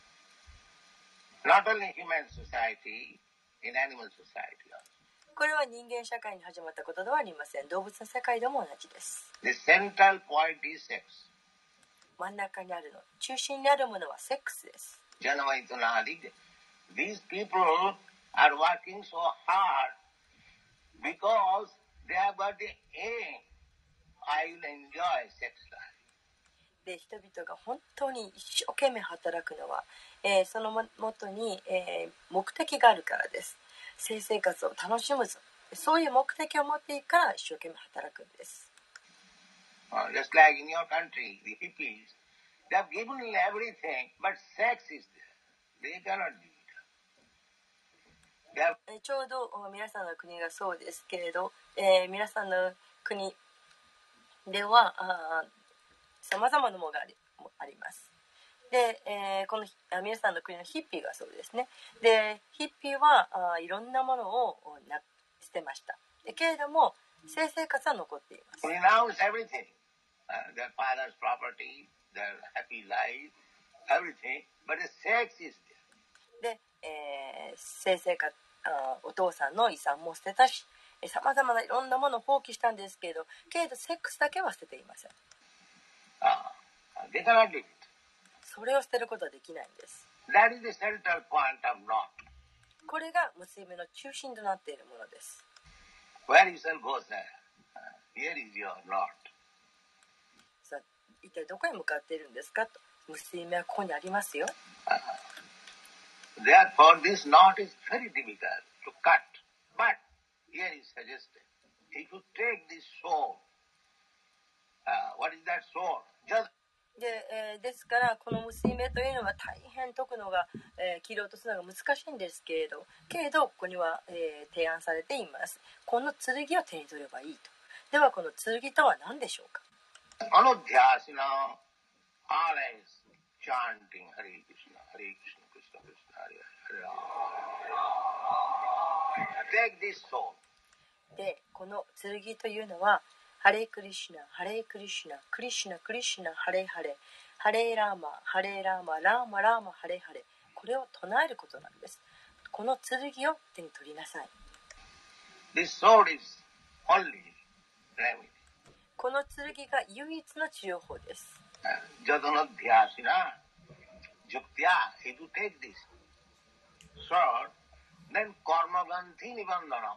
Not only human society, in animal society also. これは人間社会に始まったことではありません。動物の世界でも同じです。 The central point is sex. 真ん中にあるの、中心にあるものはセックスです。 These people are working so hard because they have got the aim. I will enjoy sex life. で、人々が本当に一生懸命働くのは、そのもとに、目的があるからです。性生活を楽しむぞ。そういう目的を持っているから一生懸命働くんです。 Just like in your country, the hippies, they have given everything, but sex is there. They cannot do it. ちょうど皆さんの国がそうですけれど、皆さんの国ではさまざまなものがもあります。で、この皆さんの国のヒッピーがそうですね。で、ヒッピーはいろんなものを捨てました。でけれども性生活は残っています。 Renounce everything, their father's property, their happy life, everything, but the sex is there. で、性生活お父さんの遺産も捨てたし、さまざまないろんなものを放棄したんですけれど、セックスだけは捨てていません。 They cannot do it. それを捨てることはできないんです。 That is the central point of knot. これが結びの中心となっているものです。 Where you shall go, sir? Here is your knot. さあ、一体どこへ向かっているんですかと。結び目はここにありますよ。 Therefore, this knot is very difficult to cut. But here is suggested, if you take this sword, what is that sword? Just ですからこの結び目というのは大変解くのが、切り落とすのが難しいんですけれどここには、提案されています。この剣を手に取ればいいと。ではこの剣とは何でしょうか。 Anodhyasana, always chanting Hare Krishna, Hare Krishna, Krishna Krishna, Hare Hare. Take this sword. でこの剣というのはハレークリシュナ、ハレークリシュナ、クリシュナ、クリシュナ、ハレーハレー、ハレーラーマ、ハレーラーマ、ラーマ、ラーマ、ハレーハレー。これを唱えることなんです。この剣を手に取りなさい。 This sword is only remedy. この剣が唯一の治療法です。 Jadonodhyasana, Juktya, if you take this sword, then karma gandhi nibandhanam.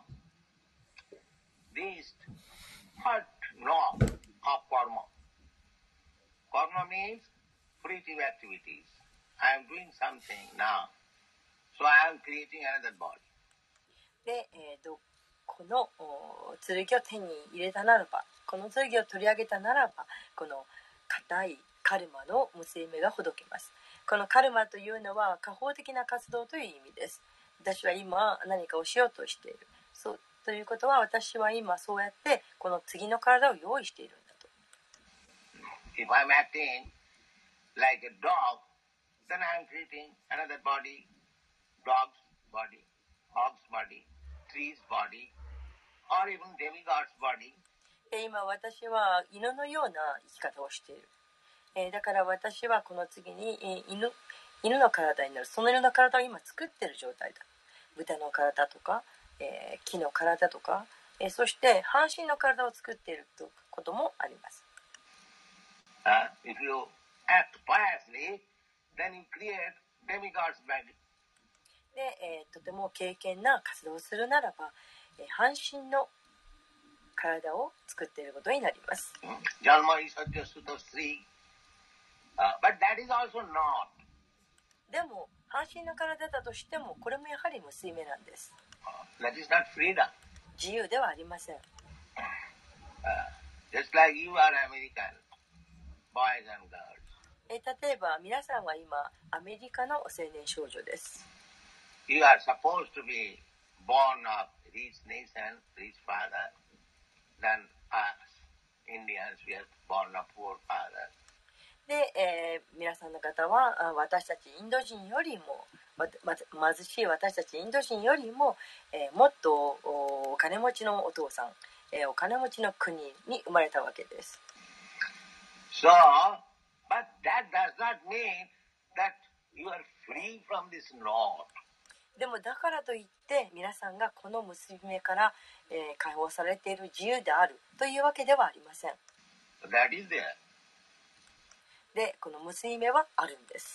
This first law of karma. Karma means creative activities. I am doing something now. So I am creating another body. で、この剣を手に入れたならば、この剣を取り上げたならば、この固いカルマの結び目がほどけます。このカルマというのは下方的な活動という意味です。私は今何かをしようとしている。そうということは私は今そうやってこの次の体を用意しているんだと。 If I'm acting like a dog, then I'm creating another body, dog's body, hog's body, tree's body, or even demigod's body. 今私は犬のような生き方をしている。だから私はこの次に犬の体になる。その犬の体を今作っている状態だ。豚の体とか、木の体とか、そして半身の体を作っていることもあります。 If you act piously, then you create demigod's body. で、とても敬虔な活動をするならば、半身の体を作っていることになります。 Jalma is Satyasuta Sri. But that is also not. でも半身の体だとしてもこれもやはり結び目なんです。 That is not freedom. 自由ではありません。 Just like you are American, boys and girls. 例えば皆さんは今アメリカの青年少女です。 You are supposed to be born of rich nation, rich father. Than us, Indians, we are born of poor father. で、皆さんの方は私たちインド人よりも貧しい私たちインド人よりも、もっとお金持ちのお父さん、お金持ちの国に生まれたわけです。 So, but that does not mean that you are free from this knot. でもだからといって皆さんがこの結び目から、解放されている自由であるというわけではありません。 That is there. で、この結び目はあるんです。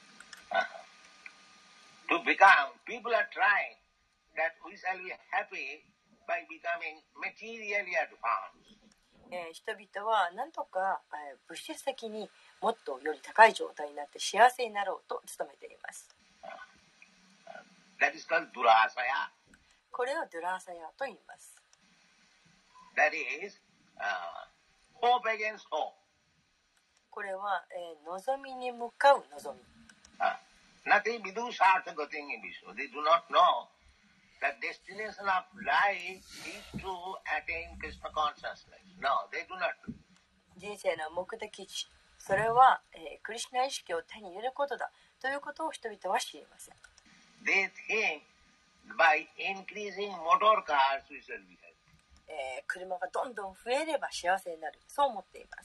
To become, people are trying that we shall be happy by becoming materially advanced. 人々は何とか、物質的にもっとより高い状態になって幸せになろうと努めています。 That is called durasaya. これをドゥラーサヤと言います。 That is hope against hope. これは、望みに向かう望み。 Nothing vidusartha gating in Vishnu. They do not know that destination of life is to attain Krishna consciousness. No, they do not. 人生の目的地それは、クリシュナ意識を手に入れることだということを人々は知りません。 They think by increasing motor cars we shall be happy. 車がどんどん増えれば幸せになる、そう思っています。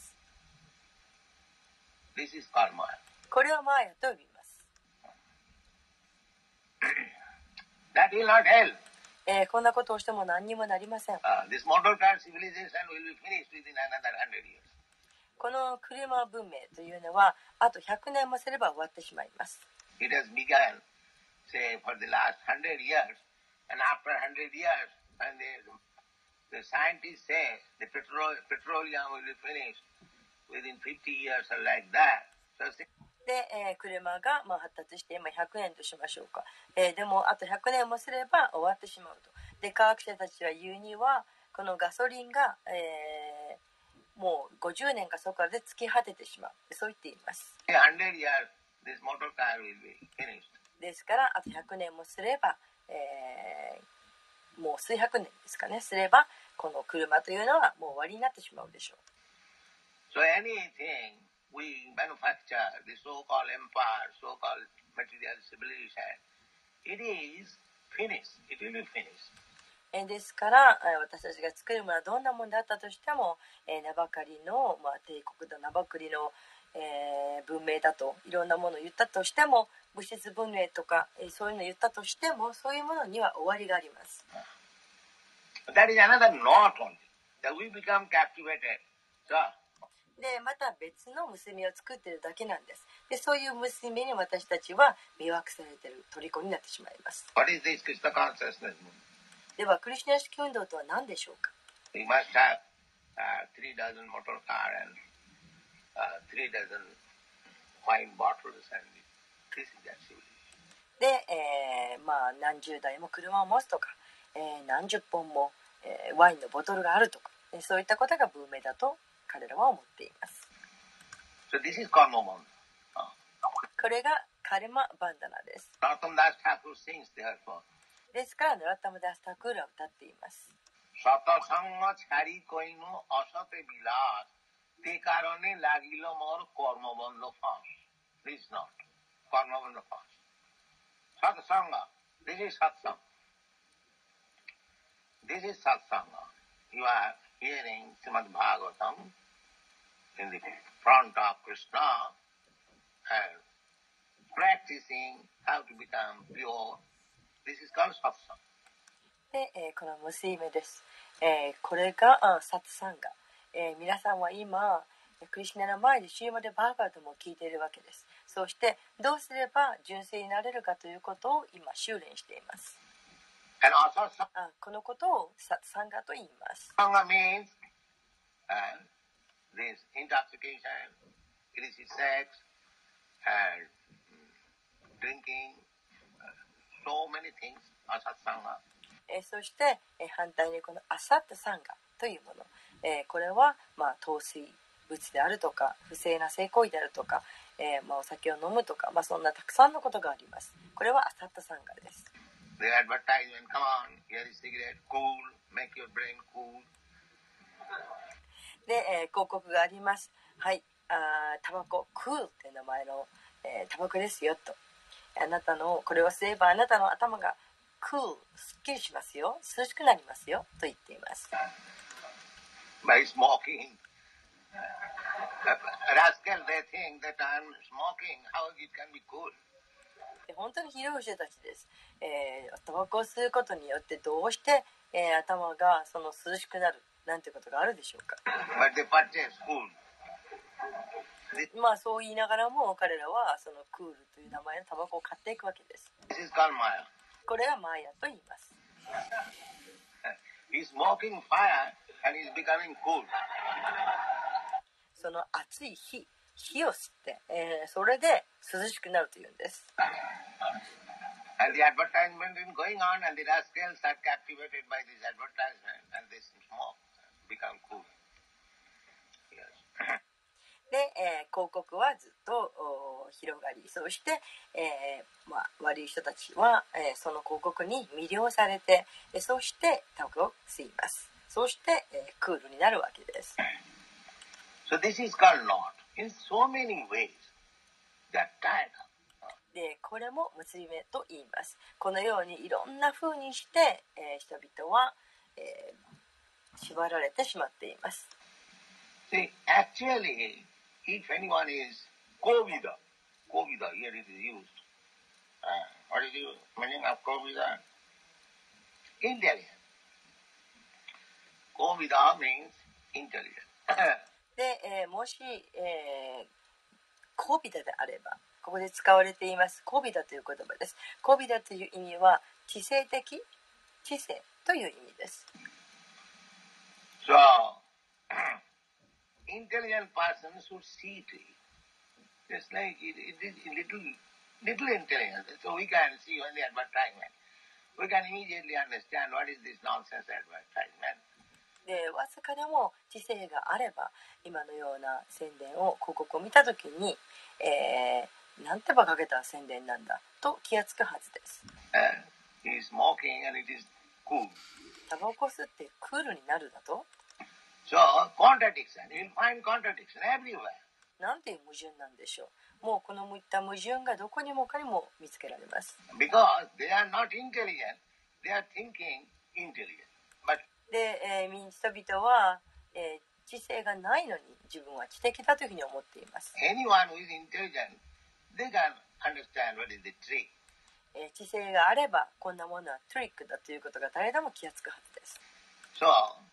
This is called Maya. これはマーヤと呼びます。 That will not help. こんなことをしても何にもなりません。 This motor car civilization will be finished within another 100 years. この車文明というのはあと100年もすれば終わってしまいます。 It has begun, say, for the last 100 years, and after 100 years, when the scientists say the petroleum will be finished within 50 years or like that. So, で、車が発達して今100年としましょうか。でもあと100年もすれば終わってしまうと。で、科学者たちは言うには、このガソリンが、もう50年かそこらで尽き果ててしまう。そう言っています。 100 years, this motor car will be finished. ですからあと100年もすれば、もう数百年ですかね、すればこの車というのはもう終わりになってしまうでしょう。 So anything we manufacture, the so-called empire, so-called material civilization, it is finished. It will be finished. ですから私たちが作るものはどんなものであったとしても、名ばかりの、帝国だ名ばかりの、文明だといろんなものを言ったとしても、物質文明とか、そういうのを言ったとしても、そういうものには終わりがあります。 That is another knot only. That we become captivated. So, でまた別の娘を作っているだけなんです。でそういう娘に私たちは魅惑されている虜になってしまいます。 what is this Krishna consciousness movement? ではクリシュナ意識運動とは何でしょうか。 We must have 3 dozen motor car and 3 dozen wine bottles and this is that civilization. で、何十台も車を持つとか、何十本も、ワインのボトルがあるとか、そういったことが文明だと彼らは思っています。 So this is karma band. これがカルマバンダナです。 Narottam Das Thakur sings therefore. ですからナロッタムダスタクールは歌っています。 Satasanga chhari koino asate bilas te karone lagilo mor karma band fas. This is not karma band fas. Satsanga. This is satsanga. This is satsanga. You are hearing Srimad Bhagavatam in the front of Krishna and practicing how to become pure. This is called satsanga. で、この娘です。これがサツサンガ。皆さんは今クリシュナの前でシーマデバーガーとも聞いているわけです。そしてどうすれば純粋になれるかということを今修練しています。このことをサツサンガと言います。 Sangha means this intoxication, illicit sex, and drinking, so many things, asatsanga. そして、反対にこのアサッタサンガというもの、これは、陶酔物であるとか不正な性行為であるとか、お酒を飲むとか、そんなたくさんのことがあります。これはアサッタサンガです。 The advertisement, come on, here is cigarette, cool, make your brain cool. で、広告があります。はい、タバコ、クールって名前の、タバコですよと。あなたのこれを吸えばあなたの頭がクール、すっきりしますよ、涼しくなりますよと言っています。 By smoking, rascal, they think that I'm smoking, how it can be cool. 本当にひどい人たちです。タバコを吸うことによってどうして、頭がその涼しくなるなんてことがあるでしょうか。 But they purchase cool. そう言いながらも彼らはそのクールという名前のタバコを買っていくわけです。 This is called Maya. これがマーヤと言います。 He's smoking fire and he's becoming cool. その熱い火を吸って、それで涼しくなるというんです。 And the advertisement is going on and the rascals are captivated by this advertisement and they smoke, become cool. Yes. で、広告はずっと広がり、そして、悪い人たちは、その広告に魅了されて、そしてタバコを吸います。そして、クールになるわけです。 So this is called knot. in so many ways. That kind of. でこれも結び目と言います。このようにいろんな風にして、人々は、縛られてしまっています。 See, actually, if anyone is Kovida, here it is used. What is the meaning of Kovida? Intelligent. Kovida means intelligent. で、もし、コビダであれば、ここで使われていますコビダという言葉です。コビダという意味は知性的、知性という意味です。 So, intelligent person should see to it. Just like it is little intelligence. So we can see on the advertisement. We can immediately understand what is this nonsense advertisement. でわずかでも知性があれば今のような宣伝を広告を見たときに、なんて馬鹿げた宣伝なんだと気がつくはずです。タバコ吸ってクールになるだと。 So, contradiction. You'll find contradiction everywhere. なんていう矛盾なんでしょう。もうこのいった矛盾がどこにもかにも見つけられます。 Because they are not intelligent, they are thinking intelligent. But で、人々は、知性がないのに自分は知的だというふうに思っています。 anyone who is intelligent, they can understand what is the trick. 知性があればこんなものはトリックだということが誰でも気がつくはずです。 So,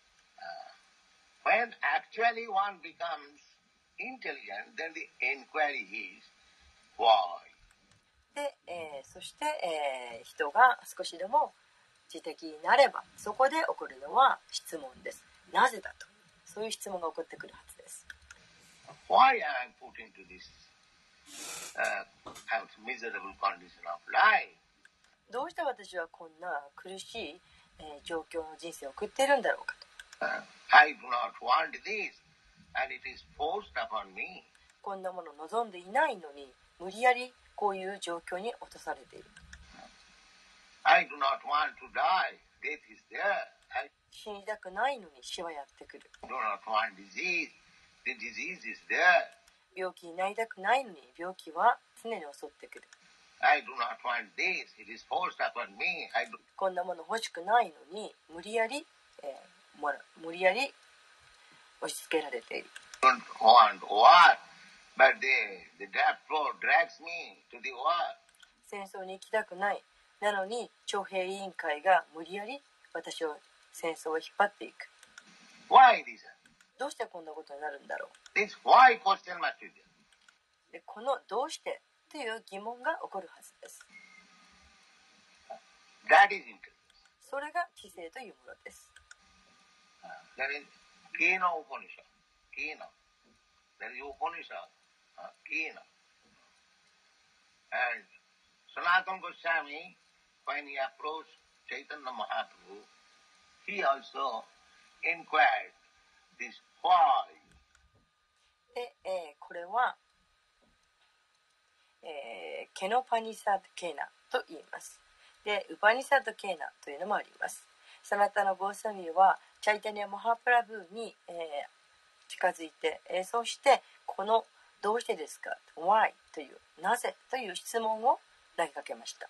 when actually one becomes intelligent, then the inquiry is why. で、そして、人が少しでも知的になればそこで起こるのは質問です。なぜだとそういう質問が起こってくるはずです。 Why am I put into this miserable condition of life? どうして私はこんな苦しい、状況の人生を送っているんだろうかと。 I do not want this, and it is forced upon me. こんなものを望んでいないのに無理やりこういう状況に落とされている。 I do not want to die. Death is there. 死にたくないのに死はやってくる。 I do not want disease. The disease is there. 病気になりたくないのに病気は常に襲ってくる。 I do not want this. It is forced upon me. こんなもの欲しくないのに無理やり押し付けられている。 Don't want war, but the death flow drags me to the war. 戦争に行きたくない。なのに徴兵委員会が無理やり私を戦争を引っ張っていく。 Why this? どうしてこんなことになるんだろう。 This why question must be there. でこのどうしてという疑問が起こるはずです。 That is intelligence. それが知性というものです。 That is Kena Upanishad. Kena. That is Upanishad. Kena. And Sanatana Goswami, when he approached Chaitanya Mahaprabhu, he also inquired this why. で、これは、ケノパニサッドケーナと言います。で、ウパニサッドケーナというのもあります。サナタナ・ゴーサミはチャイタニア・マハプラブーに、近づいて、そしてこのどうしてですか Why というなぜという質問を投げかけました。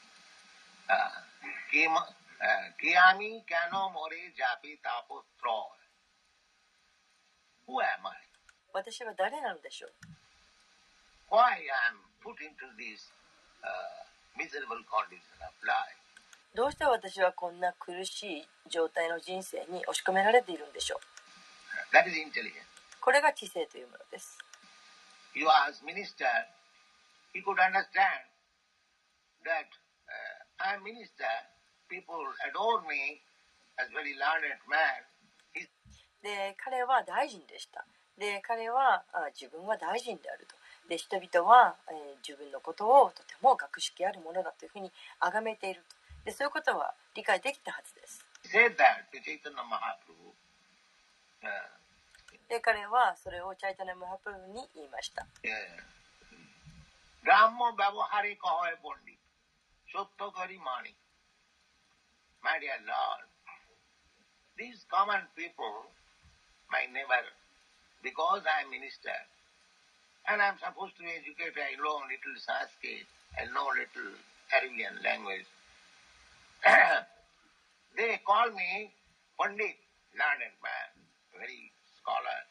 Kiyami kano more japi tapo troy. Who am I? 私は誰なのでしょう。 Why I am put into this miserable condition of life? どうして私はこんな苦しい状態の人生に押し込められているんでしょう。 That is intelligence. これが知性というものです。 You as minister, he could understand that I am minister, people adore me as very learned man. で、彼は大臣でした。で、彼は自分は大臣であると。で、人々は、自分のことをとても学識あるものだというふうに崇めていると。で、そういうことは理解できたはずです。で、彼はそれをチャイタナ・マハプルに言いました。 Brahmo Bhavahari Kahoy Bondi, Shottokari Mani. My dear Lord, these common people, my neighbor, because I am minister, And I'm supposed to be educated. I know little Sanskrit. I know little Arabian language. They call me Pandit, learned man, very scholar.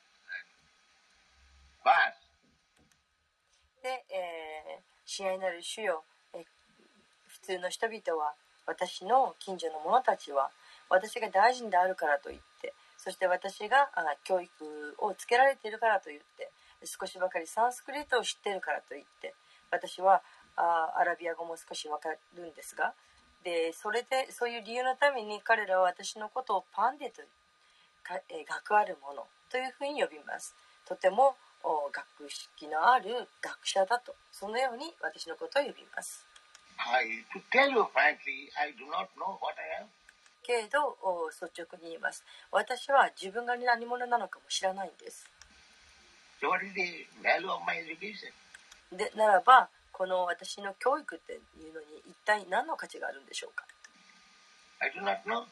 But で、親愛なる主よ、普通の人々は、私の近所の者たちは、私が大臣であるからといって、そして私が教育をつけられているからといって、少しばかりサンスクリットを知っているからといって、私はアラビア語も少しわかるんですが、でそういう理由のために彼らは私のことをパンデと学ある者というふうに呼びます。とても学識のある学者だと、そのように私のことを呼びます。 To tell you frankly, I do not know what I am. けれど率直に言います。私は自分が何者なのかも知らないんです。 So what is the value of my education? でならば、この私の教育っていうのに一体何の価値があるんでしょうか。 I do not know.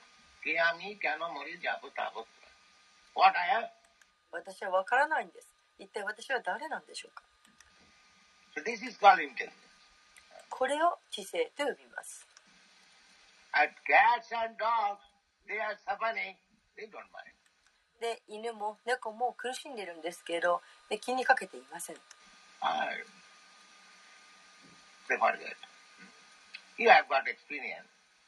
What I am? 私は分からないんです。一体私は誰なんでしょうか。 So this is called intelligence. これを知性と呼びます。 And cats and dogs, they are suffering. They don't mind. で、犬も猫も苦しんでいるんですけど、気にかけていません。 They forget. You have got experience.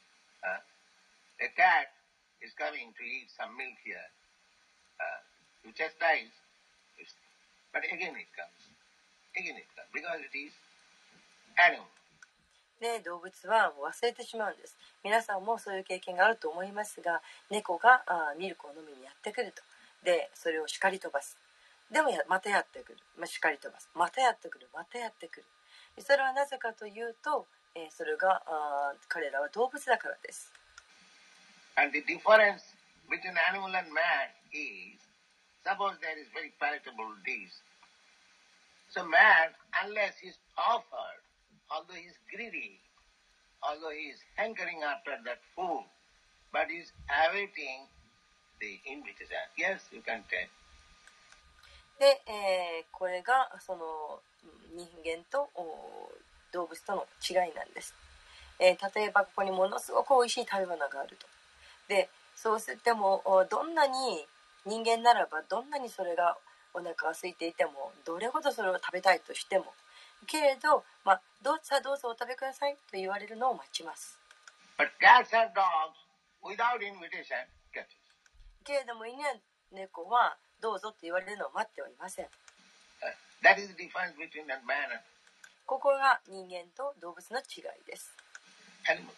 A cat is coming to eat some milk here. You chastise, but again it comes. Because it is animal. で、動物はもう忘れてしまうんです。皆さんもそういう経験があると思いますが、猫がミルクを飲みにやってくると。で、それを叱り飛ばす。でもまたやってくる。叱り飛ばす。またやってくる。またやってくる。それはなぜかというと、それが彼らは動物だからです。 And the difference between animal and man is, suppose there is very palatable dish. So man, unless he is offered, although he is greedy, although he is hankering after that food, but he is awaiting the invitation. Yes, you can take. で、これがその人間と動物との違いなんです。例えばここにものすごく美味しい食べ物があると。で、そうしてもどんなに人間ならばどんなにそれがお腹が空いていてもどれほどそれを食べたいとしてもけれど、どうぞお食べくださいと言われるのを待ちます。 But cats and dogs, without invitation, get it. けれども犬や猫はどうぞと言われるのを待ってはいません。 That is the difference between man and ここが人間と動物の違いです。 animal.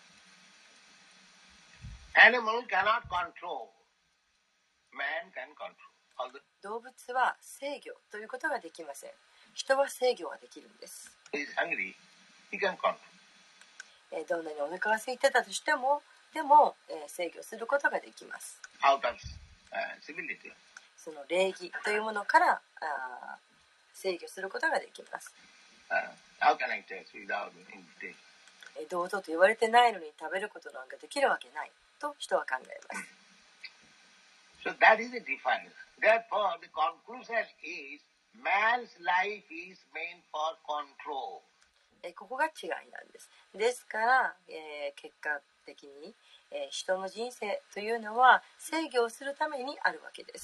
Animal cannot control. Man can control. 動物は制御ということができません。人は制御ができるんです。 He is hungry, he can control. どんなにお腹が空いてたとしても、でも、制御することができます。 Out of civility. その礼儀というものから制御することができます。 How can I taste without invitation? どうぞと言われてないのに食べることなんかできるわけないと人は考えます。 So that is the difference. Therefore, the conclusion is man's life is meant for control. ここが違いなんです。ですから、結果的に、人の人生というのは制御をするためにあるわけです。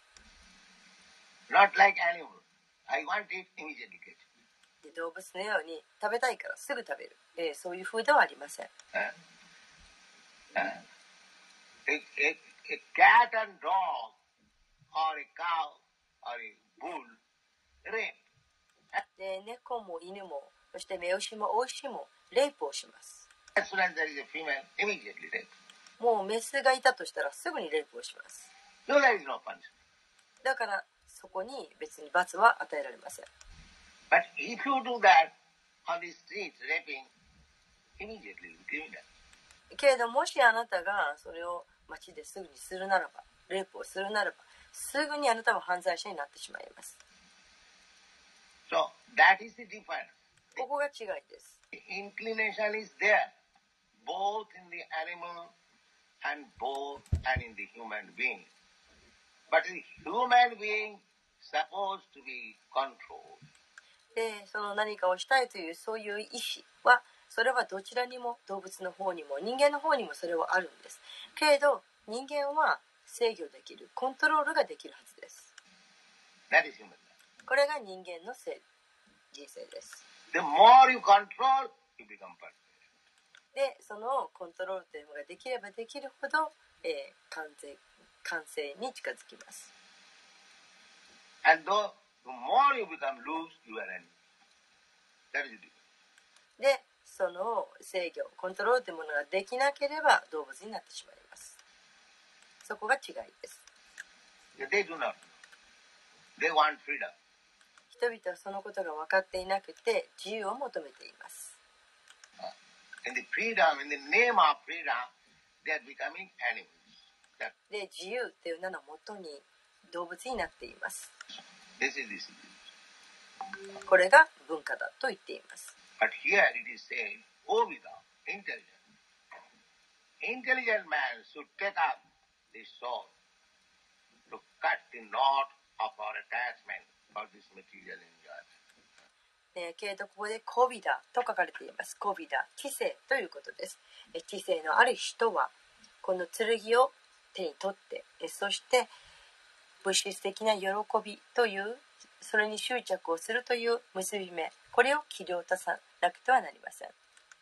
Not like animal. I want it immediately. 動物のように食べたいからすぐ食べる、そういう風ではありません。 A cat and dog or a cow or a bull rape. で、猫も犬もそして雌牛も雄牛もレイプをします。 As soon as there is a female, immediately rape. もうメスがいたとしたらすぐにレイプをします。 So there is no punishment. だからそこに別に罰は与えられません。 But if you do that on the street, raping, immediately criminal. けれどもしあなたがそれを街ですぐにするならば、レイプをするならば、すぐにあなたは犯罪者になってしまいます。 So that is the difference. ここが違いです。 The inclination is there, both in the animal and in the human being. But the human being supposed to be controlled. で、その何かをしたいというそういう意志は、それはどちらにも、動物の方にも人間の方にもそれはあるんです。けれど人間は制御できる、コントロールができるはずです。 That is human life. これが人間の人生です。 The more you control, you become perfect. で、そのコントロールというのができればできるほど、完成に近づきます。 And though the more you become loose, you are enemy. That is it. で、その制御、コントロールというものができなければ動物になってしまいます。そこが違いです。 They do not. They want freedom. 人々はそのことが分かっていなくて自由を求めています。 In the freedom, in the name of freedom, they are becoming animals. で、自由という名のもとに動物になっています。 This is this. これが文化だと言っています。 But here it is said, O Vida, intelligent. Intelligent man should take up the sword to cut the knot of our attachment for this material enjoyment. けれどここでコビダと書かれています。コビダ、知性ということです。知性のある人はこの剣を手に取って、そして物質的な喜びというそれに執着をするという結び目、これを切り落とさなくてはなりません。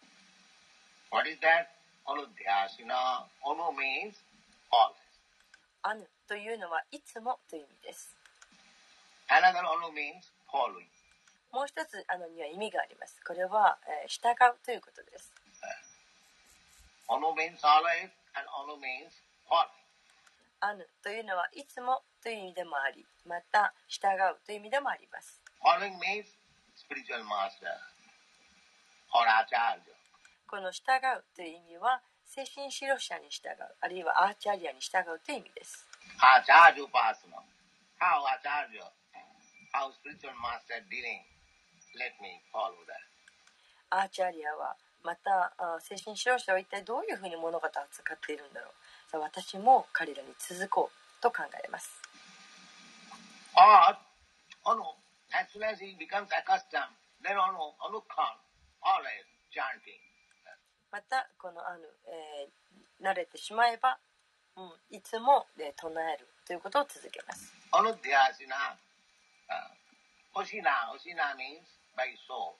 What is that? Anudhyasina. Anu means always. アヌというのはいつもという意味です。 Another anu means following. もう一つアヌには意味があります。これは、従うということです。 Anu means always and anu means following. アヌというのはいつもという意味でもあり、また従うという意味でもあります。 Following means spiritual master or acharya. この従うという意味は精神指導者に従う、あるいはアーチャリアに従うという意味です。 Acharya upasana. How acharya, how spiritual master dealing. Let me follow that. アーチャリアはまた精神指導者は一体どういうふうに物事を扱っているんだろう。さあ私も彼らに続こうと考えます。 Or, as soon as he becomes accustomed, then Anukhan, always chanting. またこの慣れてしまえば、いつも唱えるということを続けます。 Anudhyasina, Osina means by soul.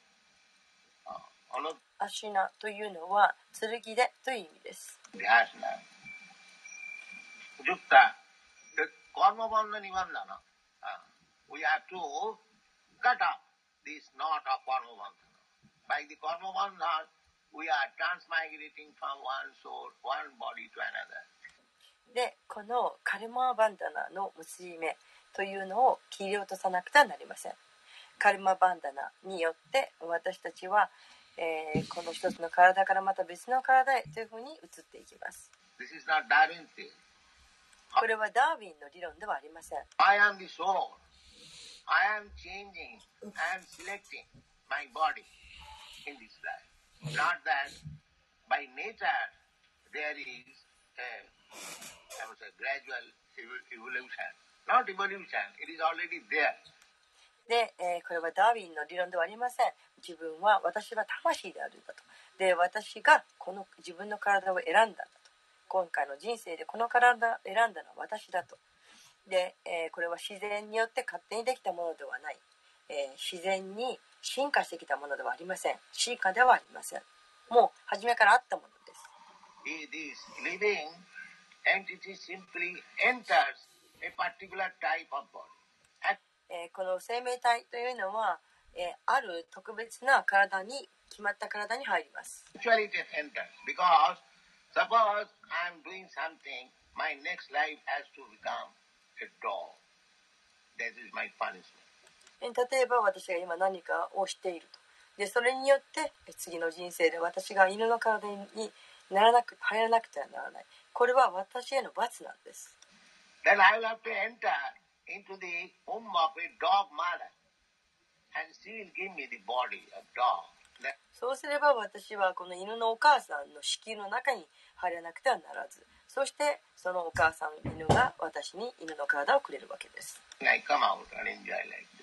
アシナというのは剣でという意味です。 Dhyasana. Yukta, the karma bandha nibandhana. We have to cut off this knot of karma bandhana. By the karma bandhana, we are transmigrating from one soul, one body to another. で、このカルマバンダナの結び目というのを切り落とさなくてはなりません。カルマバンダナによって私たちは、この一つの体からまた別の体へというふうに移っていきます。 This is not Darwin's theory. これはダーウィンの理論ではありません。 I am the soul. I am changing and selecting my body in this life. Not that by nature there is a gradual evolution. Not evolution, it is already there. で、これはダーウィンの理論ではありません。私は魂であるんだと。で、私がこの自分の体を選んだんだと。今回の人生でこの体を選んだのは私だと。で、これは自然によって勝手にできたものではない。自然に進化してきたものではありません。進化ではありません。もう初めからあったものです。 This living entity simply enters a particular type of body. この生命体というのは、ある特別な体に決まった体に入ります。 Actually it enters because suppose I am doing something, my next life has to become a dog. That is my punishment. 例えば私が今何かをしていると。で、それによって次の人生で私が犬の体に入らなくてはならない。これは私への罰なんです。 Then I will have to enter into the womb of a dog mother and she will give me the body of dog. そうすれば私はこの犬のお母さんの子宮の中に入らなくてはならず、そしてそのお母さん犬が私に犬の体をくれるわけです。 I come out and enjoy like dog.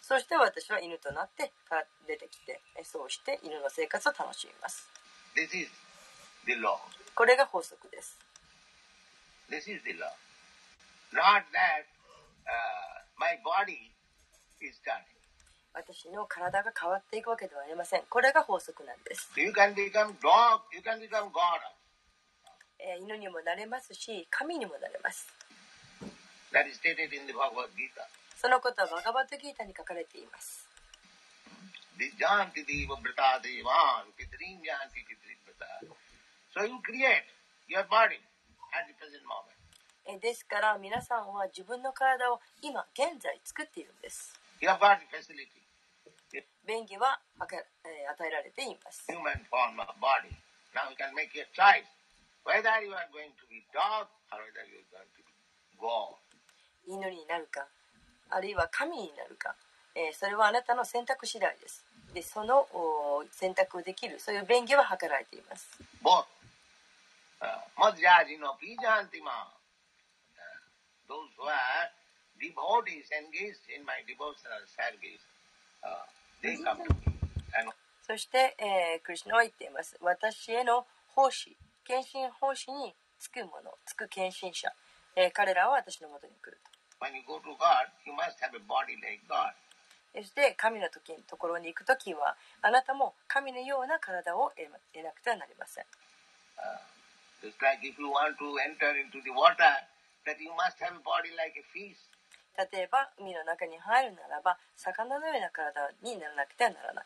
そして私は犬となって出てきて、そうして犬の生活を楽しみます。 This is the law. これが法則です。 This is the law. Not that my body is turning. 私の体が変わっていくわけではありません。これが法則なんです。 You can become dog, you can become God. 犬にもなれますし、神にもなれます。 That is stated in the Bhagavad Gita. そのことはバガバットギータに書かれています。 Vijanti deva brata devan pitrinjanti pitribrata. So you create your body at the present moment. ですから皆さんは自分の体を今現在作っているんです。 You have got the facility. 便宜は与えられています。 Human form of body. Now you can make your choice whether you are going to be dog or whether you are going to be God. 犬になるか、あるいは神になるか、それはあなたの選択次第です。で、その選択できる、そういう便宜は図られています。 Both. Madhyajino pijantima. Those who are devotees engaged in my devotional service, they come to me. そして、クリシュナは言っています。私への奉仕、献身奉仕につく者、つく献身者、彼らは私のもとに来ると。 When you go to God, you must have a body like God. そして神のところに行くときはあなたも神のような体を得なくてはなりません。 Just like if you want to enter into the water, that you must have a body like a fish. 例えば海の中に入るならば魚のような体にならなくてはならない。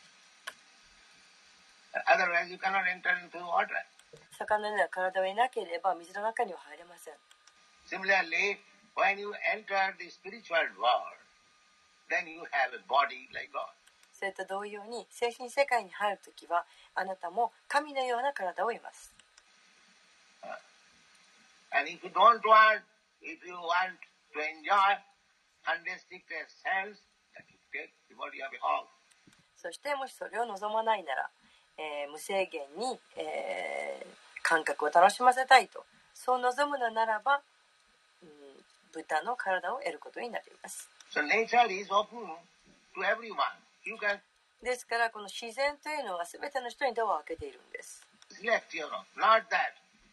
Otherwise you cannot enter into the water. 魚のような体を得なければ水の中には入れません。 Similarly, when you enter the spiritual world, then you have a body like God. それと同様に精神世界に入るときはあなたも神のような体を得ます。 And if you don't want, if you want to enjoy unrestricted sense, then you take the body of a hog. そしてもしそれを望まないなら、無制限に、感覚を楽しませたいとそう望むのならば、豚の体を得ることになります。 So nature is open to everyone. You can ですからこの自然というのは全ての人にドアを開けているんです。 select, not that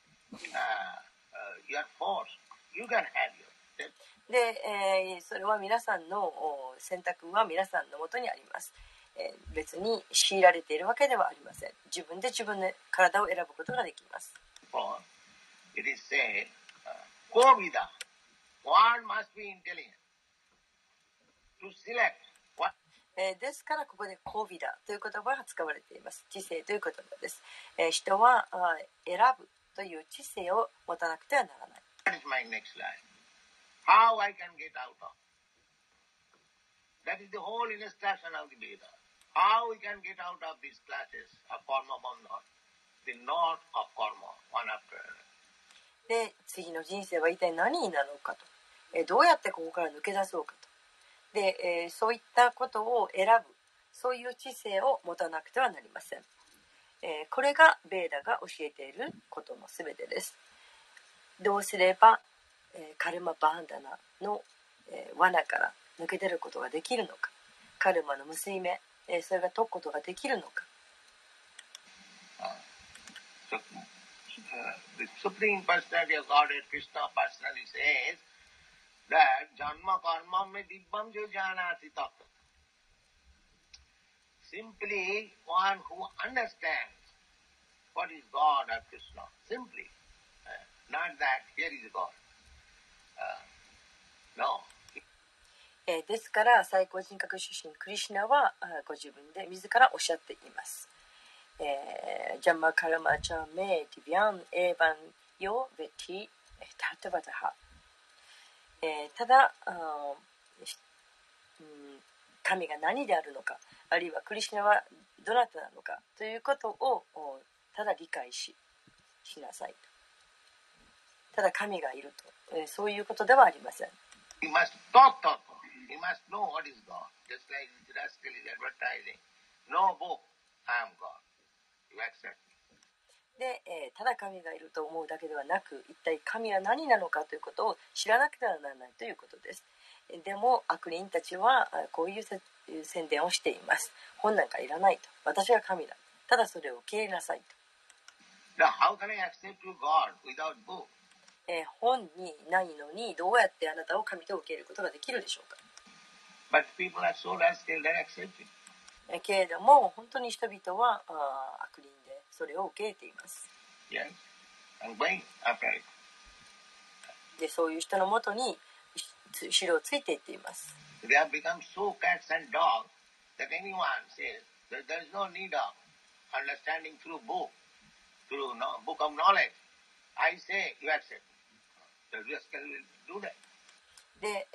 you are forced. You can have your. で、それは皆さんの選択は皆さんのもとにあります。別に強いられているわけではありません。自分で自分の体を選ぶことができます。 It is said, Kovida, one must be intelligent to select what. ですからここでコビダという言葉が使われています。知性という言葉です。人は選ぶという知性を持たなくてはならない。 That is my next life. How I can get out of. That is the whole instruction of the Veda. How we can get out of these classes of karma bandhan, the knot of karma, one after another. で、次の人生は一体何になるのかと、どうやってここから抜け出そうかと。で、そういったことを選ぶ、そういう知性を持たなくてはなりません。これがベーダが教えていることのすべてです。どうすれば、カルマバンダナの、罠から抜け出ることができるのか、カルマの結び目、それが解くことができるのか。 The Supreme Personality of Godhead, Krishna personally says that Janma Karma me Dibbam Jo Janati Tattva. Simply one who understands what is God or Krishna. Simply. Not that here is God. No. ですから最高人格出身クリシュナはご自分で自らおっしゃっています。ジャンマカルマチャメディビアンエヴァンヨベティタトバタハ。ただ、神が何であるのか、あるいはクリシュナはどなたなのかということをただ理解しなさい。ただ神がいると、そういうことではありません。 You must talk. You must know what is God. Just like the rascal is advertising. No book, I am God. You accept me. で、ただ神がいると思うだけではなく、一体神は何なのかということを知らなくてはならないということです。 でも悪人たちはこういう宣伝をしています。本なんかいらないと。私は神だ。ただそれを受け入れなさいと。 How can I accept you, God, without book? 本にないのにどうやってあなたを神と受け入れることができるでしょうか。 But people are so rascal, they're accepting. けれども本当に人々は悪人でそれを受け入れています。 Yes, and going after it. でそういう人のもとに後ろをついていっています。 They have become so cats and dogs that anyone says that there is no need of understanding through book, through book of knowledge. I say you accept. The rascal will do that. で、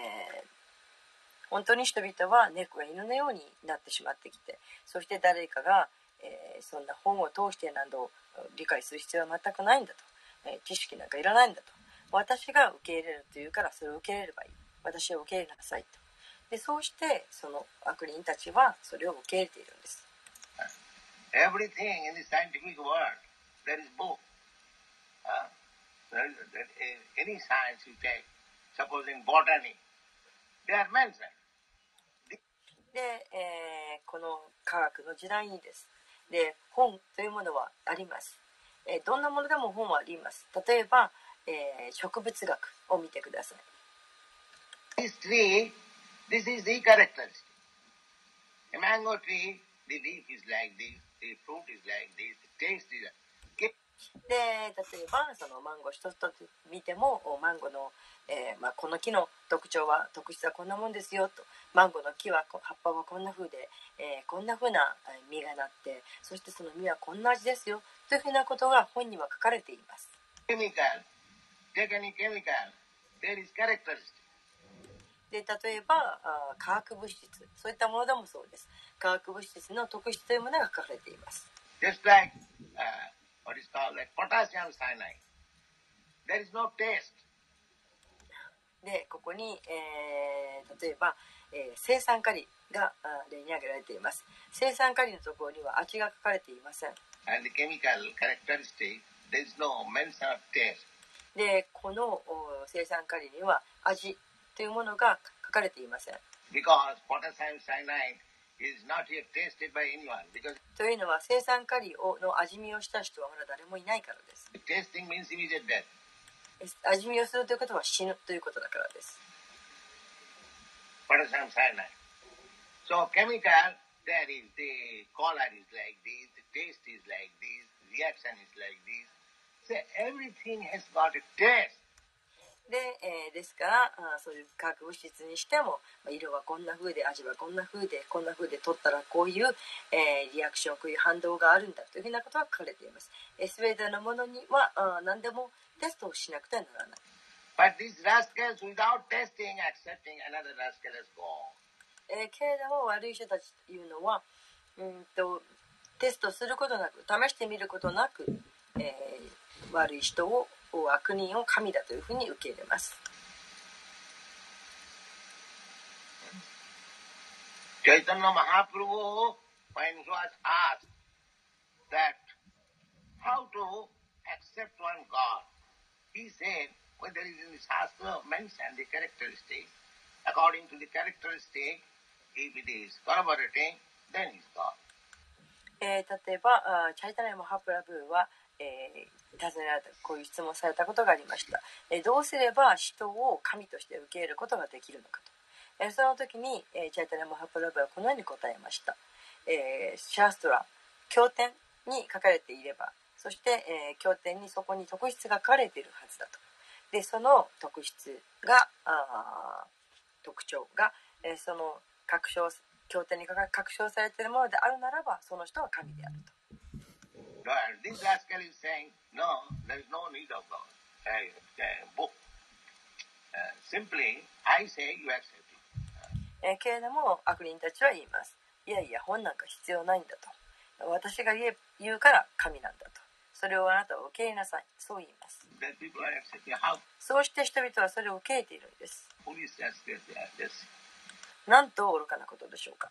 本当に人々は猫が犬のようになってしまってきて、そして誰かが、そんな本を通してなど理解する必要は全くないんだと、知識なんかいらないんだと、私が受け入れるというからそれを受け入れればいい、私を受け入れなさいと。でそうしてその悪人たちはそれを受け入れているんです。 Everything in the scientific world, there is book. Any science you take, supposing botany, they are mentioned. で、この科学の時代にです。で、本というものはあります。どんなものでも本はあります。例えば、植物学を見てください。 This tree, this is the characteristic. A mango tree, the leaf is like this, the fruit is like this, the taste is like this. で例えばそのマンゴー一つと見てもマンゴーの、この木の特質はこんなもんですよと、マンゴーの木は葉っぱはこんな風で、こんな風な実がなって、そしてその実はこんな味ですよというふうなことが本には書かれています。 Take any chemical, there is characteristic. で例えば化学物質、そういったものでもそうです。化学物質の特質というものが書かれています。 Just like what is called like potassium cyanide. There is no taste. でここに、例えば、青酸カリが例に挙げられています。青酸カリのところには味が書かれていません。 And the chemical characteristic, there is no mention of taste. でこの青酸カリには味というものが書かれていません。 Because potassium cyanide is not yet tasted by anyone. Because というのは青酸カリの味見をした人はまだ誰もいないからです。 tasting means immediate death. 味見をするということは死ぬということだからです。 Potassium cyanide. So chemical, there is the color is like this, the taste is like this, reaction is like this. So everything has got a taste. でですからそういう化学物質にしても色はこんな風で味はこんな風でこんな風で取ったらこういう、リアクションこういう反動があるんだというふうなことが書かれています。全てのものには何でもテストをしなくてはならない。 But these rascals, without testing, accepting another rascal as God. けれども悪い人たちというのはテストすることなく試してみることなく、悪い人を悪人を神だというふうに受け入れます。 Chaitanya Mahaprabhu, when he was asked that how to accept one God, he said, well, there is in the Shastra mentioned the characteristic. According to the characteristic, if it is corroborating, then he is God. 例えばチャイタニア・マハプラブーは、尋ねられたこういう質問されたことがありました。どうすれば人を神として受け入れることができるのかと。その時に、チャイタニア・マハプラブーはこのように答えました。シャーストラ経典に書かれていれば、そして、経典にそこに特質が書かれているはずだと。でその特質が特徴が、その経典に確証されているものであるならばその人は神であると。 This rascal is saying, no, there is no need of God. Book. Simply, I say you accept it. けれども悪人たちは言います。いやいや本なんか必要ないんだと。私が言うから神なんだと。それをあなたは受け入れなさい。そう言います。そうして人々はそれを受け入れているんです。なんと愚かなことでしょうか。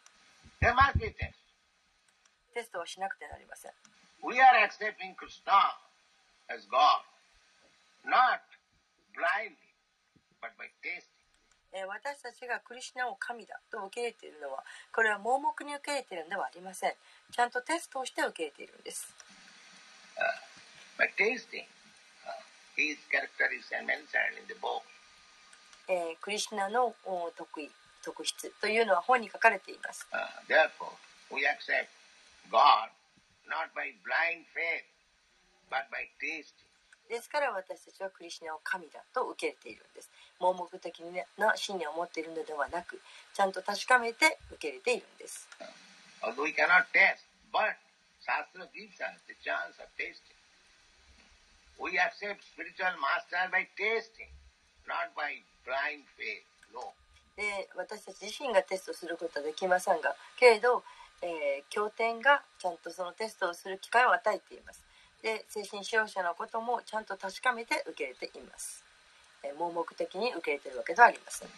テストはしなくてはなりません。 We are accepting Krishna as God, not blindly, but by tasting. 私たちがクリシュナを神だと受け入れているのは、これは盲目に受け入れているのではありません。ちゃんとテストをして受け入れているんです。 By tasting, his character is mentioned in the book. クリシュナの特質というのは本に書かれています。 Therefore, we accept God not by blind faith, but by tasting. ですから私たちはクリシュナを神だと受け入れているんです。盲目的な信念を持っているのではなく、ちゃんと確かめて受け入れているんです。 Although we cannot taste, but Shastra gives us the chance of tasting. We accept spiritual master by tasting, not by blind faith. No. で、私たち自身がテストすることはできませんが、けれど、経典がちゃんとそのテストをする機会を与えています。で、精神指導者のこともちゃんと確かめて受け入れています。盲目的に受け入れているわけではありません。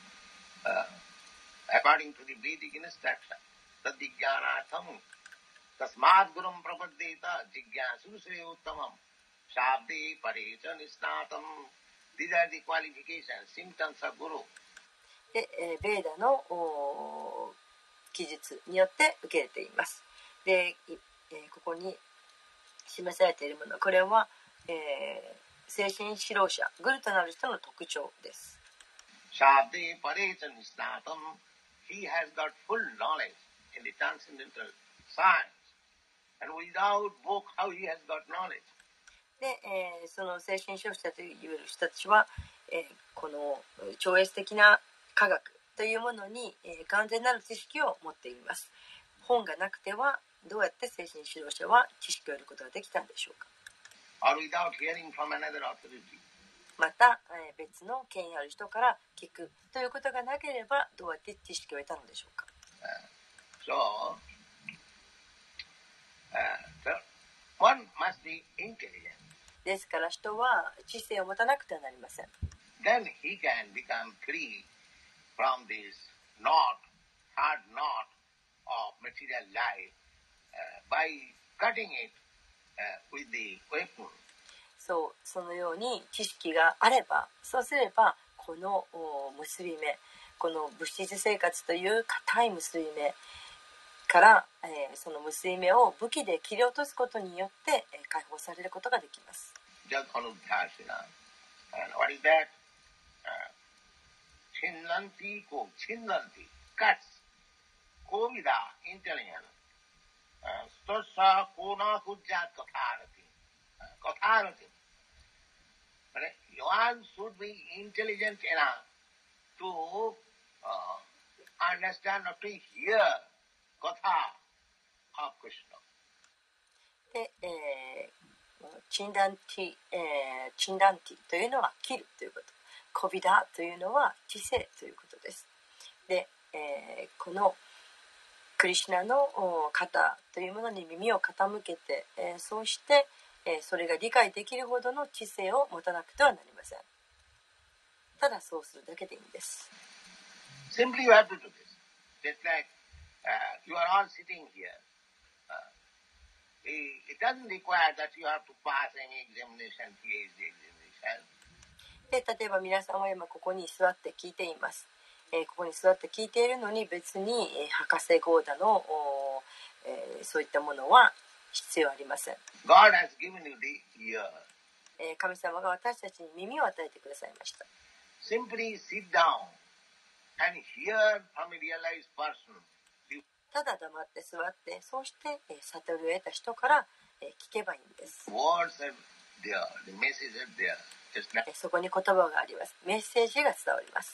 According to the Vedic instruction, tadjnanatham tasmad gurum prapaddeta jigyasu se uttamam shabde parecha nisnatam. These are the qualifications, symptoms of guru. で、ベーダの記述によって受け入れています。で、ここに示されているもの、これは、精神指導者、グルとなる人の特徴です。 Shabde parecha nisnatam. He has got full knowledge in the transcendental science. And without book, how he has got knowledge? で、その精神指導者という人たちは、この超越的な科学というものに、完全なる知識を持っています。本がなくてはどうやって精神指導者は知識を得ることができたんでしょうか。 Or without hearing from another authority. また、別の権威ある人から聞くということがなければどうやって知識を得たのでしょうか。 So, one must be intelligent. ですから人は知性を持たなくてはなりません。 Then he can become free from this hard knot of material life by cutting it with the weapon. そのように知識があれば、そうすればこの結び目、この物質生活という固い結び目から、その結び目を武器で切り落とすことによって、解放されることができます。Just Anudhashina. And what is that? Chinnanti ko chinnanti cuts. Kovida intelligence. Stossa kona kujjat katharati. Katharati. One should be intelligent enough to understand or to hear Katha of Krishna. で、チンダンティというのは切るということ。コビダというのは知性ということです。で、このクリシュナの方というものに耳を傾けて、そうして、それが理解できるほどの知性を持たなくてはなりません。ただそうするだけでいいんです。 Simply you have to do this. Just like you are all sitting here. It doesn't require that you have to pass any examination, PhD examination. で、例えば皆さんは今ここに座って聞いています。ここに座って聞いているのに別に、博士号だの、そういったものは必要ありません。 God has given you the ear. 神様が私たちに耳を与えてくださいました。 Simply sit down and hear from a realized person. ただ黙って座って、そうして悟りを得た人から聞けばいいんです。 Words are there, the message is there. そこに言葉があります。メッセージが伝わります。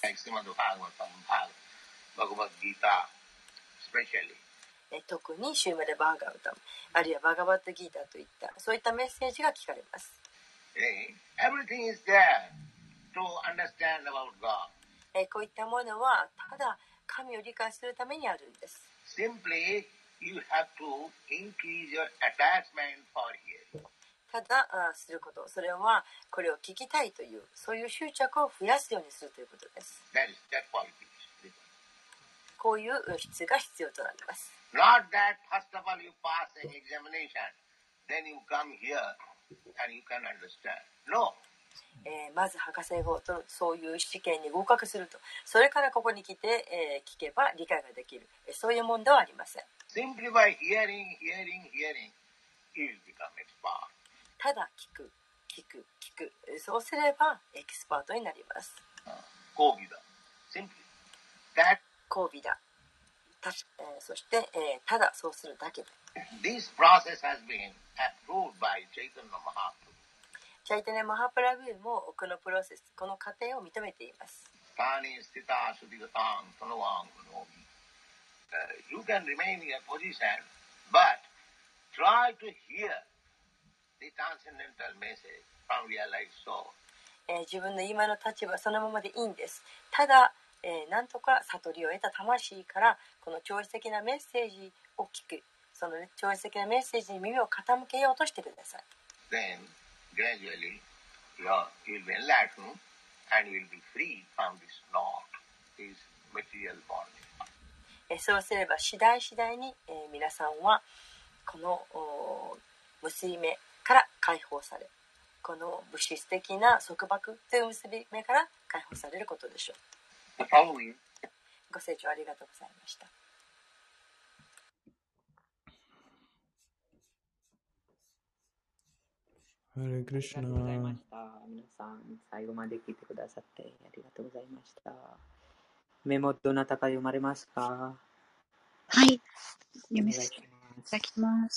特にシューマデ・バーガウタム、あるいはバガバットギータといったそういったメッセージが聞かれます。 Everything is there to understand about God. こういったものはただ神を理解するためにあるんです。 Simply, you have to increase your attachment for hearing. ただすること、それはこれを聞きたいというそういう執着を増やすようにするということです。こういう質が必要となります。 Not that first of all you pass an examination, then you come here and you can understand. No. まず博士号とそういう試験に合格すると、それからここに来て、聞けば理解ができる、そういうもんではありません。 Simply by hearing, he will become expert. ただ聞く、そうすればエキスパートになります。 Kovida. Simply. That 交尾だ。そして、ただそうするだけで。 this process has been approved by Chaitanya Mahaprabhu. チャイタニャ・マハプラブーもこのプロセス、この過程を認めています。 Tani sthita sudigatam tanavang gunomi. You can remain in your position, but try to hear the transcendental message from realized soul. 自分の今の立場そのままでいいんです。ただ、なんとか悟りを得た魂からこの超越的なメッセージを聞く、その超越的なメッセージに耳を傾けようとしてください。 Then gradually you will be enlightened and you will be free from this knot, this material bondage. そうすれば次第に、皆さんはこの結び目から解放され、この物質的な束縛という結び目から解放されることでしょう。 The following ご清聴ありがとうございました。 ハレクリシュナ。 ありがとうございました。皆さん、最後まで聞いてくださってありがとうございました。メモどなたか読まれますか？ はい、読みさせていお願いします。 ただきます。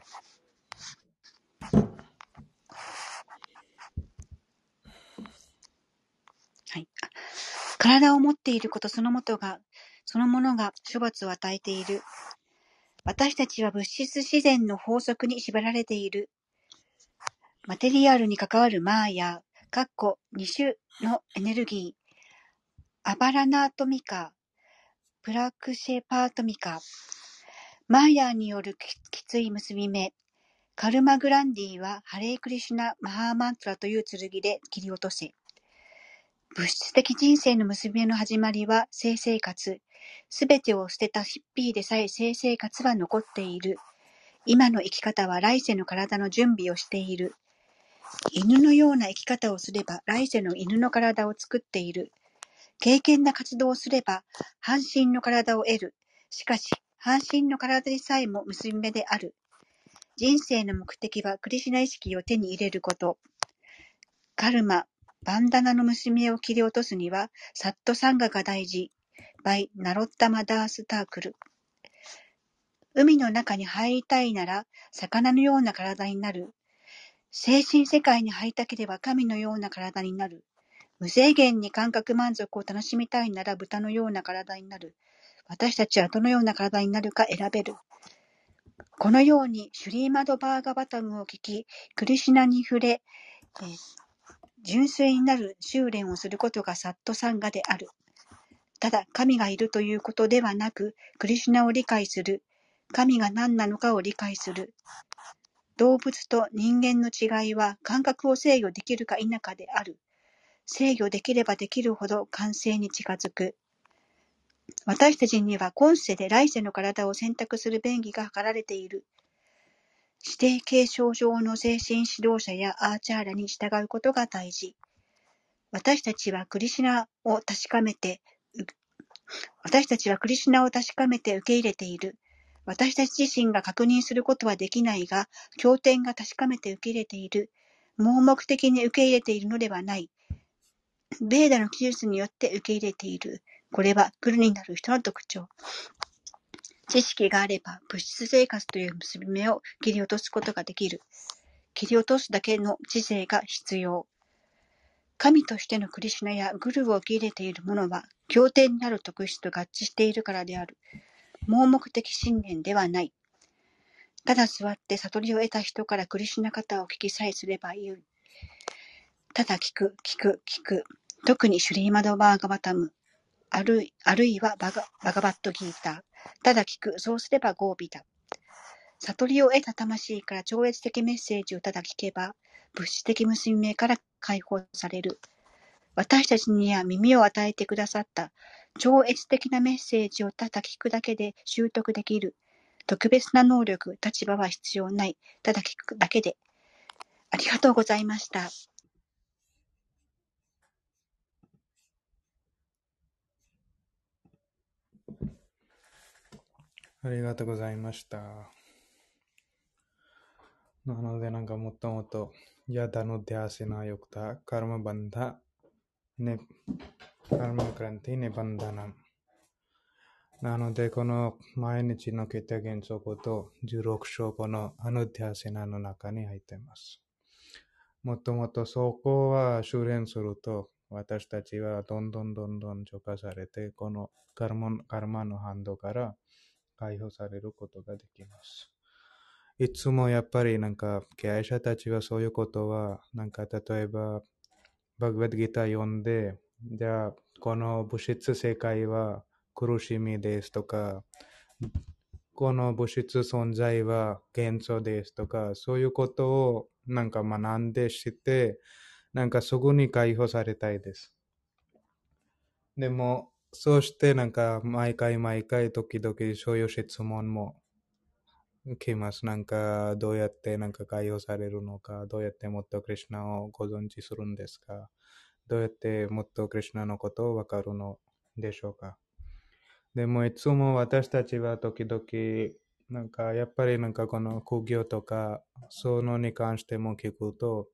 はい。体を持っていることそのものが処罰を与えている。私たちは物質自然の法則に縛られている。マテリアルに関わるマーヤ、2種のエネルギー、アバラナートミカ、プラクシェパートミカ、マーヤによるきつい結び目、カルマグランディはハレークリシュナ・マハーマントラという剣で切り落とせ。物質的人生の結び目の始まりは性生活。すべてを捨てたヒッピーでさえ性生活は残っている。今の生き方は来世の体の準備をしている。犬のような生き方をすれば来世の犬の体を作っている。敬虔な活動をすれば半身の体を得る。しかし半身の体でさえも結び目である。人生の目的はクリシュナ意識を手に入れること。カルマ、バンダナの結び目を切り落とすにはサットサンガが大事。by ナロッタマダースタークル。海の中に入りたいなら魚のような体になる。精神世界に入りたければ神のような体になる。無制限に感覚満足を楽しみたいなら豚のような体になる。私たちはどのような体になるか選べる。このようにシュリーマドバーガバタムを聞き、クリシュナに触れ、純粋になる修練をすることがサットサンガである。ただ神がいるということではなく、クリシュナを理解する。神が何なのかを理解する。動物と人間の違いは感覚を制御できるか否かである。制御できればできるほど完成に近づく。私たちには今世で来世の体を選択する便宜が図られている。指定継承上の精神指導者やアーチャーラに従うことが大事。私たちはクリシュナを確かめて受け入れている。私たち自身が確認することはできないが、経典が確かめて受け入れている。盲目的に受け入れているのではない。ベーダの記述によって受け入れている。これはグルになる人の特徴。知識があれば物質生活という結び目を切り落とすことができる。切り落とすだけの知性が必要。神としてのクリシュナやグルを受け入れている者は経典にある特質と合致しているからである。盲目的信念ではない。ただ座って悟りを得た人からクリシュナ方を聞きさえすればいい。ただ聞く。特にシュリーマドバーガバタム、あるいはバガバットギーター。ただ聞く。そうすればゴービだ。悟りを得た魂から超越的メッセージをただ聞けば、物質的結び目から解放される。私たちには耳を与えてくださった超越的なメッセージをただ聞くだけで習得できる。特別な能力、立場は必要ない。ただ聞くだけで。ありがとうございました。 ありがとうございました。なのでもっともっとヤダのデアセナヨクタカルマバンダネカルマクランティネバンダナム。なのでこの毎日のケテ原則と16章このアヌデアセナの中に入っています。もっともっとそこは修練すると私たちはどんどん浄化されてこのカルマのハンドから解放されることができます。いつもやっぱり経営者たちはそういうことは例えばバグバッドギター読んでじゃあこの物質世界は苦しみですとかこの物質存在は幻想ですとかそういうことを学んでしてすぐに解放されたいです。でもそうして毎回時々そういう質問も来ます。どうやって解放されるのか、どうやってもっとクリシュナをご存知するんですか、どうやってもっとクリシュナのことをわかるのでしょうか。でもいつも私たちは時々やっぱりこの苦行とかそのに関しても聞くと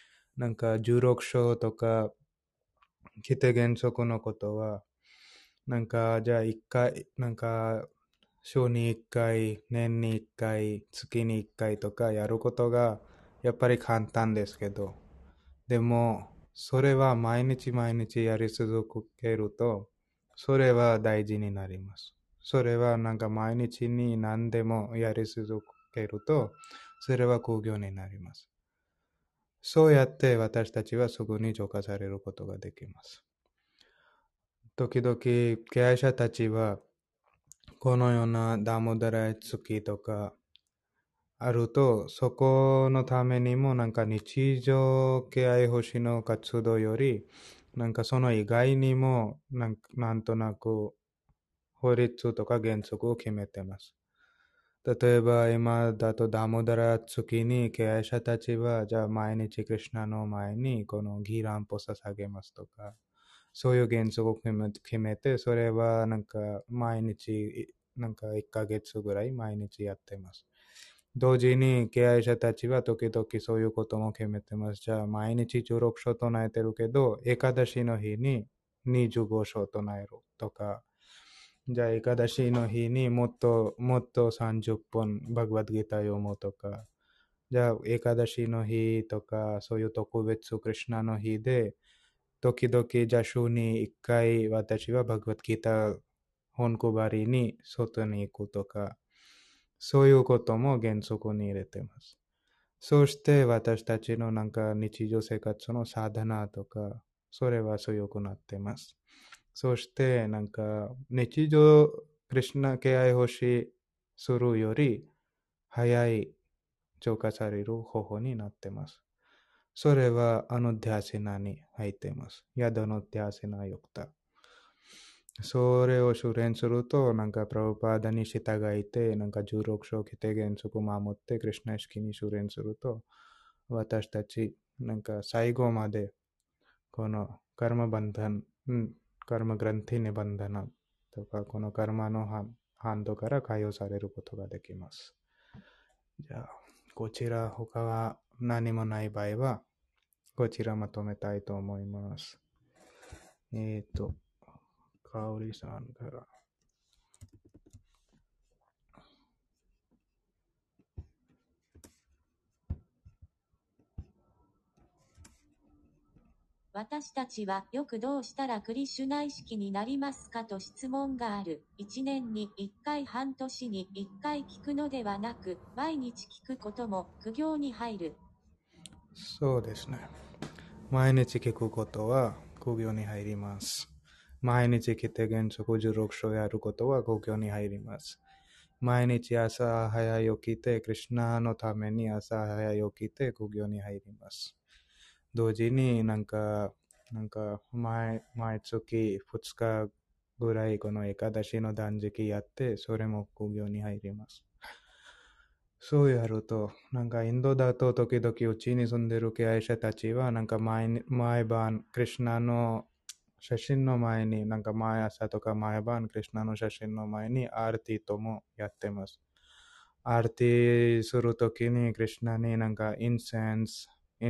16章とか規定原則のことはじゃあ一回週に1回、年に1回、月に1回とかやることがやっぱり簡単ですけど、でもそれは毎日やり続けると、それは大事になります。それは毎日に何でもやり続けると、それは苦行になります。そうやって私たちはすぐに浄化されることができます。時々経営者たちはこのようなダモダラ月とかあると、そこのためにも日常敬愛星の活動より、その以外にもなんとなく法律とか原則を決めてます。例えば今だとダモダラ月に敬愛者たちはじゃあ毎日クリシュナの前にこのギーランプを捧げますとか、そういう原則を決めて、それは毎日1ヶ月ぐらい毎日やってます。同時に敬愛者たちは時々そういうことも決めてます。じゃあ毎日16章唱えてるけど、エカダシの日に25章唱えるとか、じゃあエカダシの日にもっと30分バグワッドギター読むとか、じゃあエカダシの日とか、そういう特別クリシュナの日で、時々じゃあ週に1回私はバグワッドギター本配りに外に行くとか、そういうことも原則に入れてます。そして私たちの日常生活のサダナとか、それは強くなってます。そして日常クリシュナ敬愛欲しするより早い浄化される方法になってます。それはアヌディアセナに入っています。ヤダのディアセナヨクタ。それを修練すると、プラブパーダに従いて、16章規定原則を守って、クリシュナ意識に修練すると、私たち、最後まで、このカルマバンダン、カルマグランティネバンダナとか、このカルマのハンドから解放されることができます。じゃあ、こちら、他は何もない場合は、こちらまとめたいと思います。かおりさんから。 私たちはよくどうしたらクリシュナ意識になりますかと質問がある。1年に1回半年に1回聞くのではなく、毎日聞くことも苦行に入る。 そうですね。毎日聞くことは苦行に入ります。毎日規定原則16章やることは苦行に入ります。毎日朝早起きて、クリシュナのために朝早起きて苦行に入ります。同時に毎月2日ぐらいこのエカダシの断食やって、それも苦行に入ります。そうやると、インドだと時々うちに住んでる敬愛者たちは毎晩クリシュナの写真の前になんか毎朝とか毎晩クリシュナの写真の前にアーティともやってます。アーティするときにクリシュナになんかインセンス、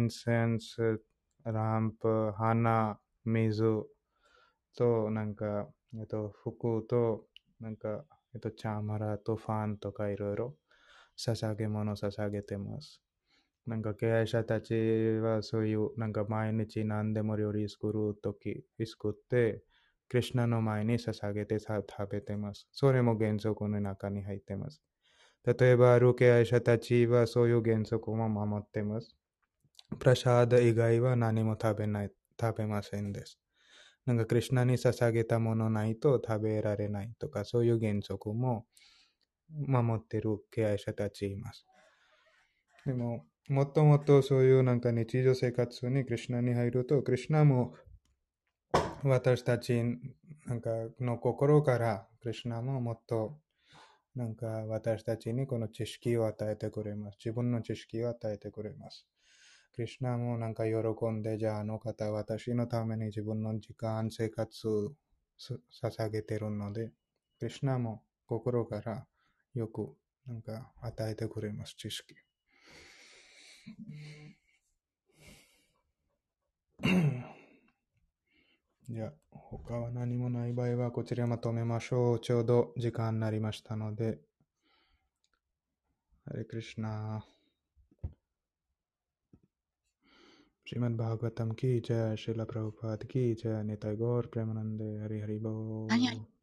ランプ、花、水となんか服となんかチャーマラとファンとかいろいろ捧げ物捧げてます。なんか経営者たちはそういうなんか毎日何でも料理作ってクリシュナの前に捧げて食べてます。それも原則の中に入ってます。例えばある経営者たちはそういう原則も守ってます。プラシャーダ以外は何も食べませんです。なんかクリシュナに捧げたものないと食べられないとかそういう原則も守っている経営者たちいます。でももっともっとそういうなんか日常生活にクリシュナに入るとクリシュナも私たちなんかの心からクリシュナももっとなんか私たちにこの知識を与えてくれます。自分の知識を与えてくれます。クリシュナもなんか喜んで、じゃああの方私のために自分の時間、生活を捧げてるので、クリシュナも心からよくなんか与えてくれます、知識。じゃあ他は何もない場合はこちらまとめましょう。ちょうど時間になりましたので。ハレクリシュナ。श्रीमद् भागवतम की जय, श्रील प्रभुपाद की जय, निताय गौर प्रेमानंदे, हरि हरि बोल।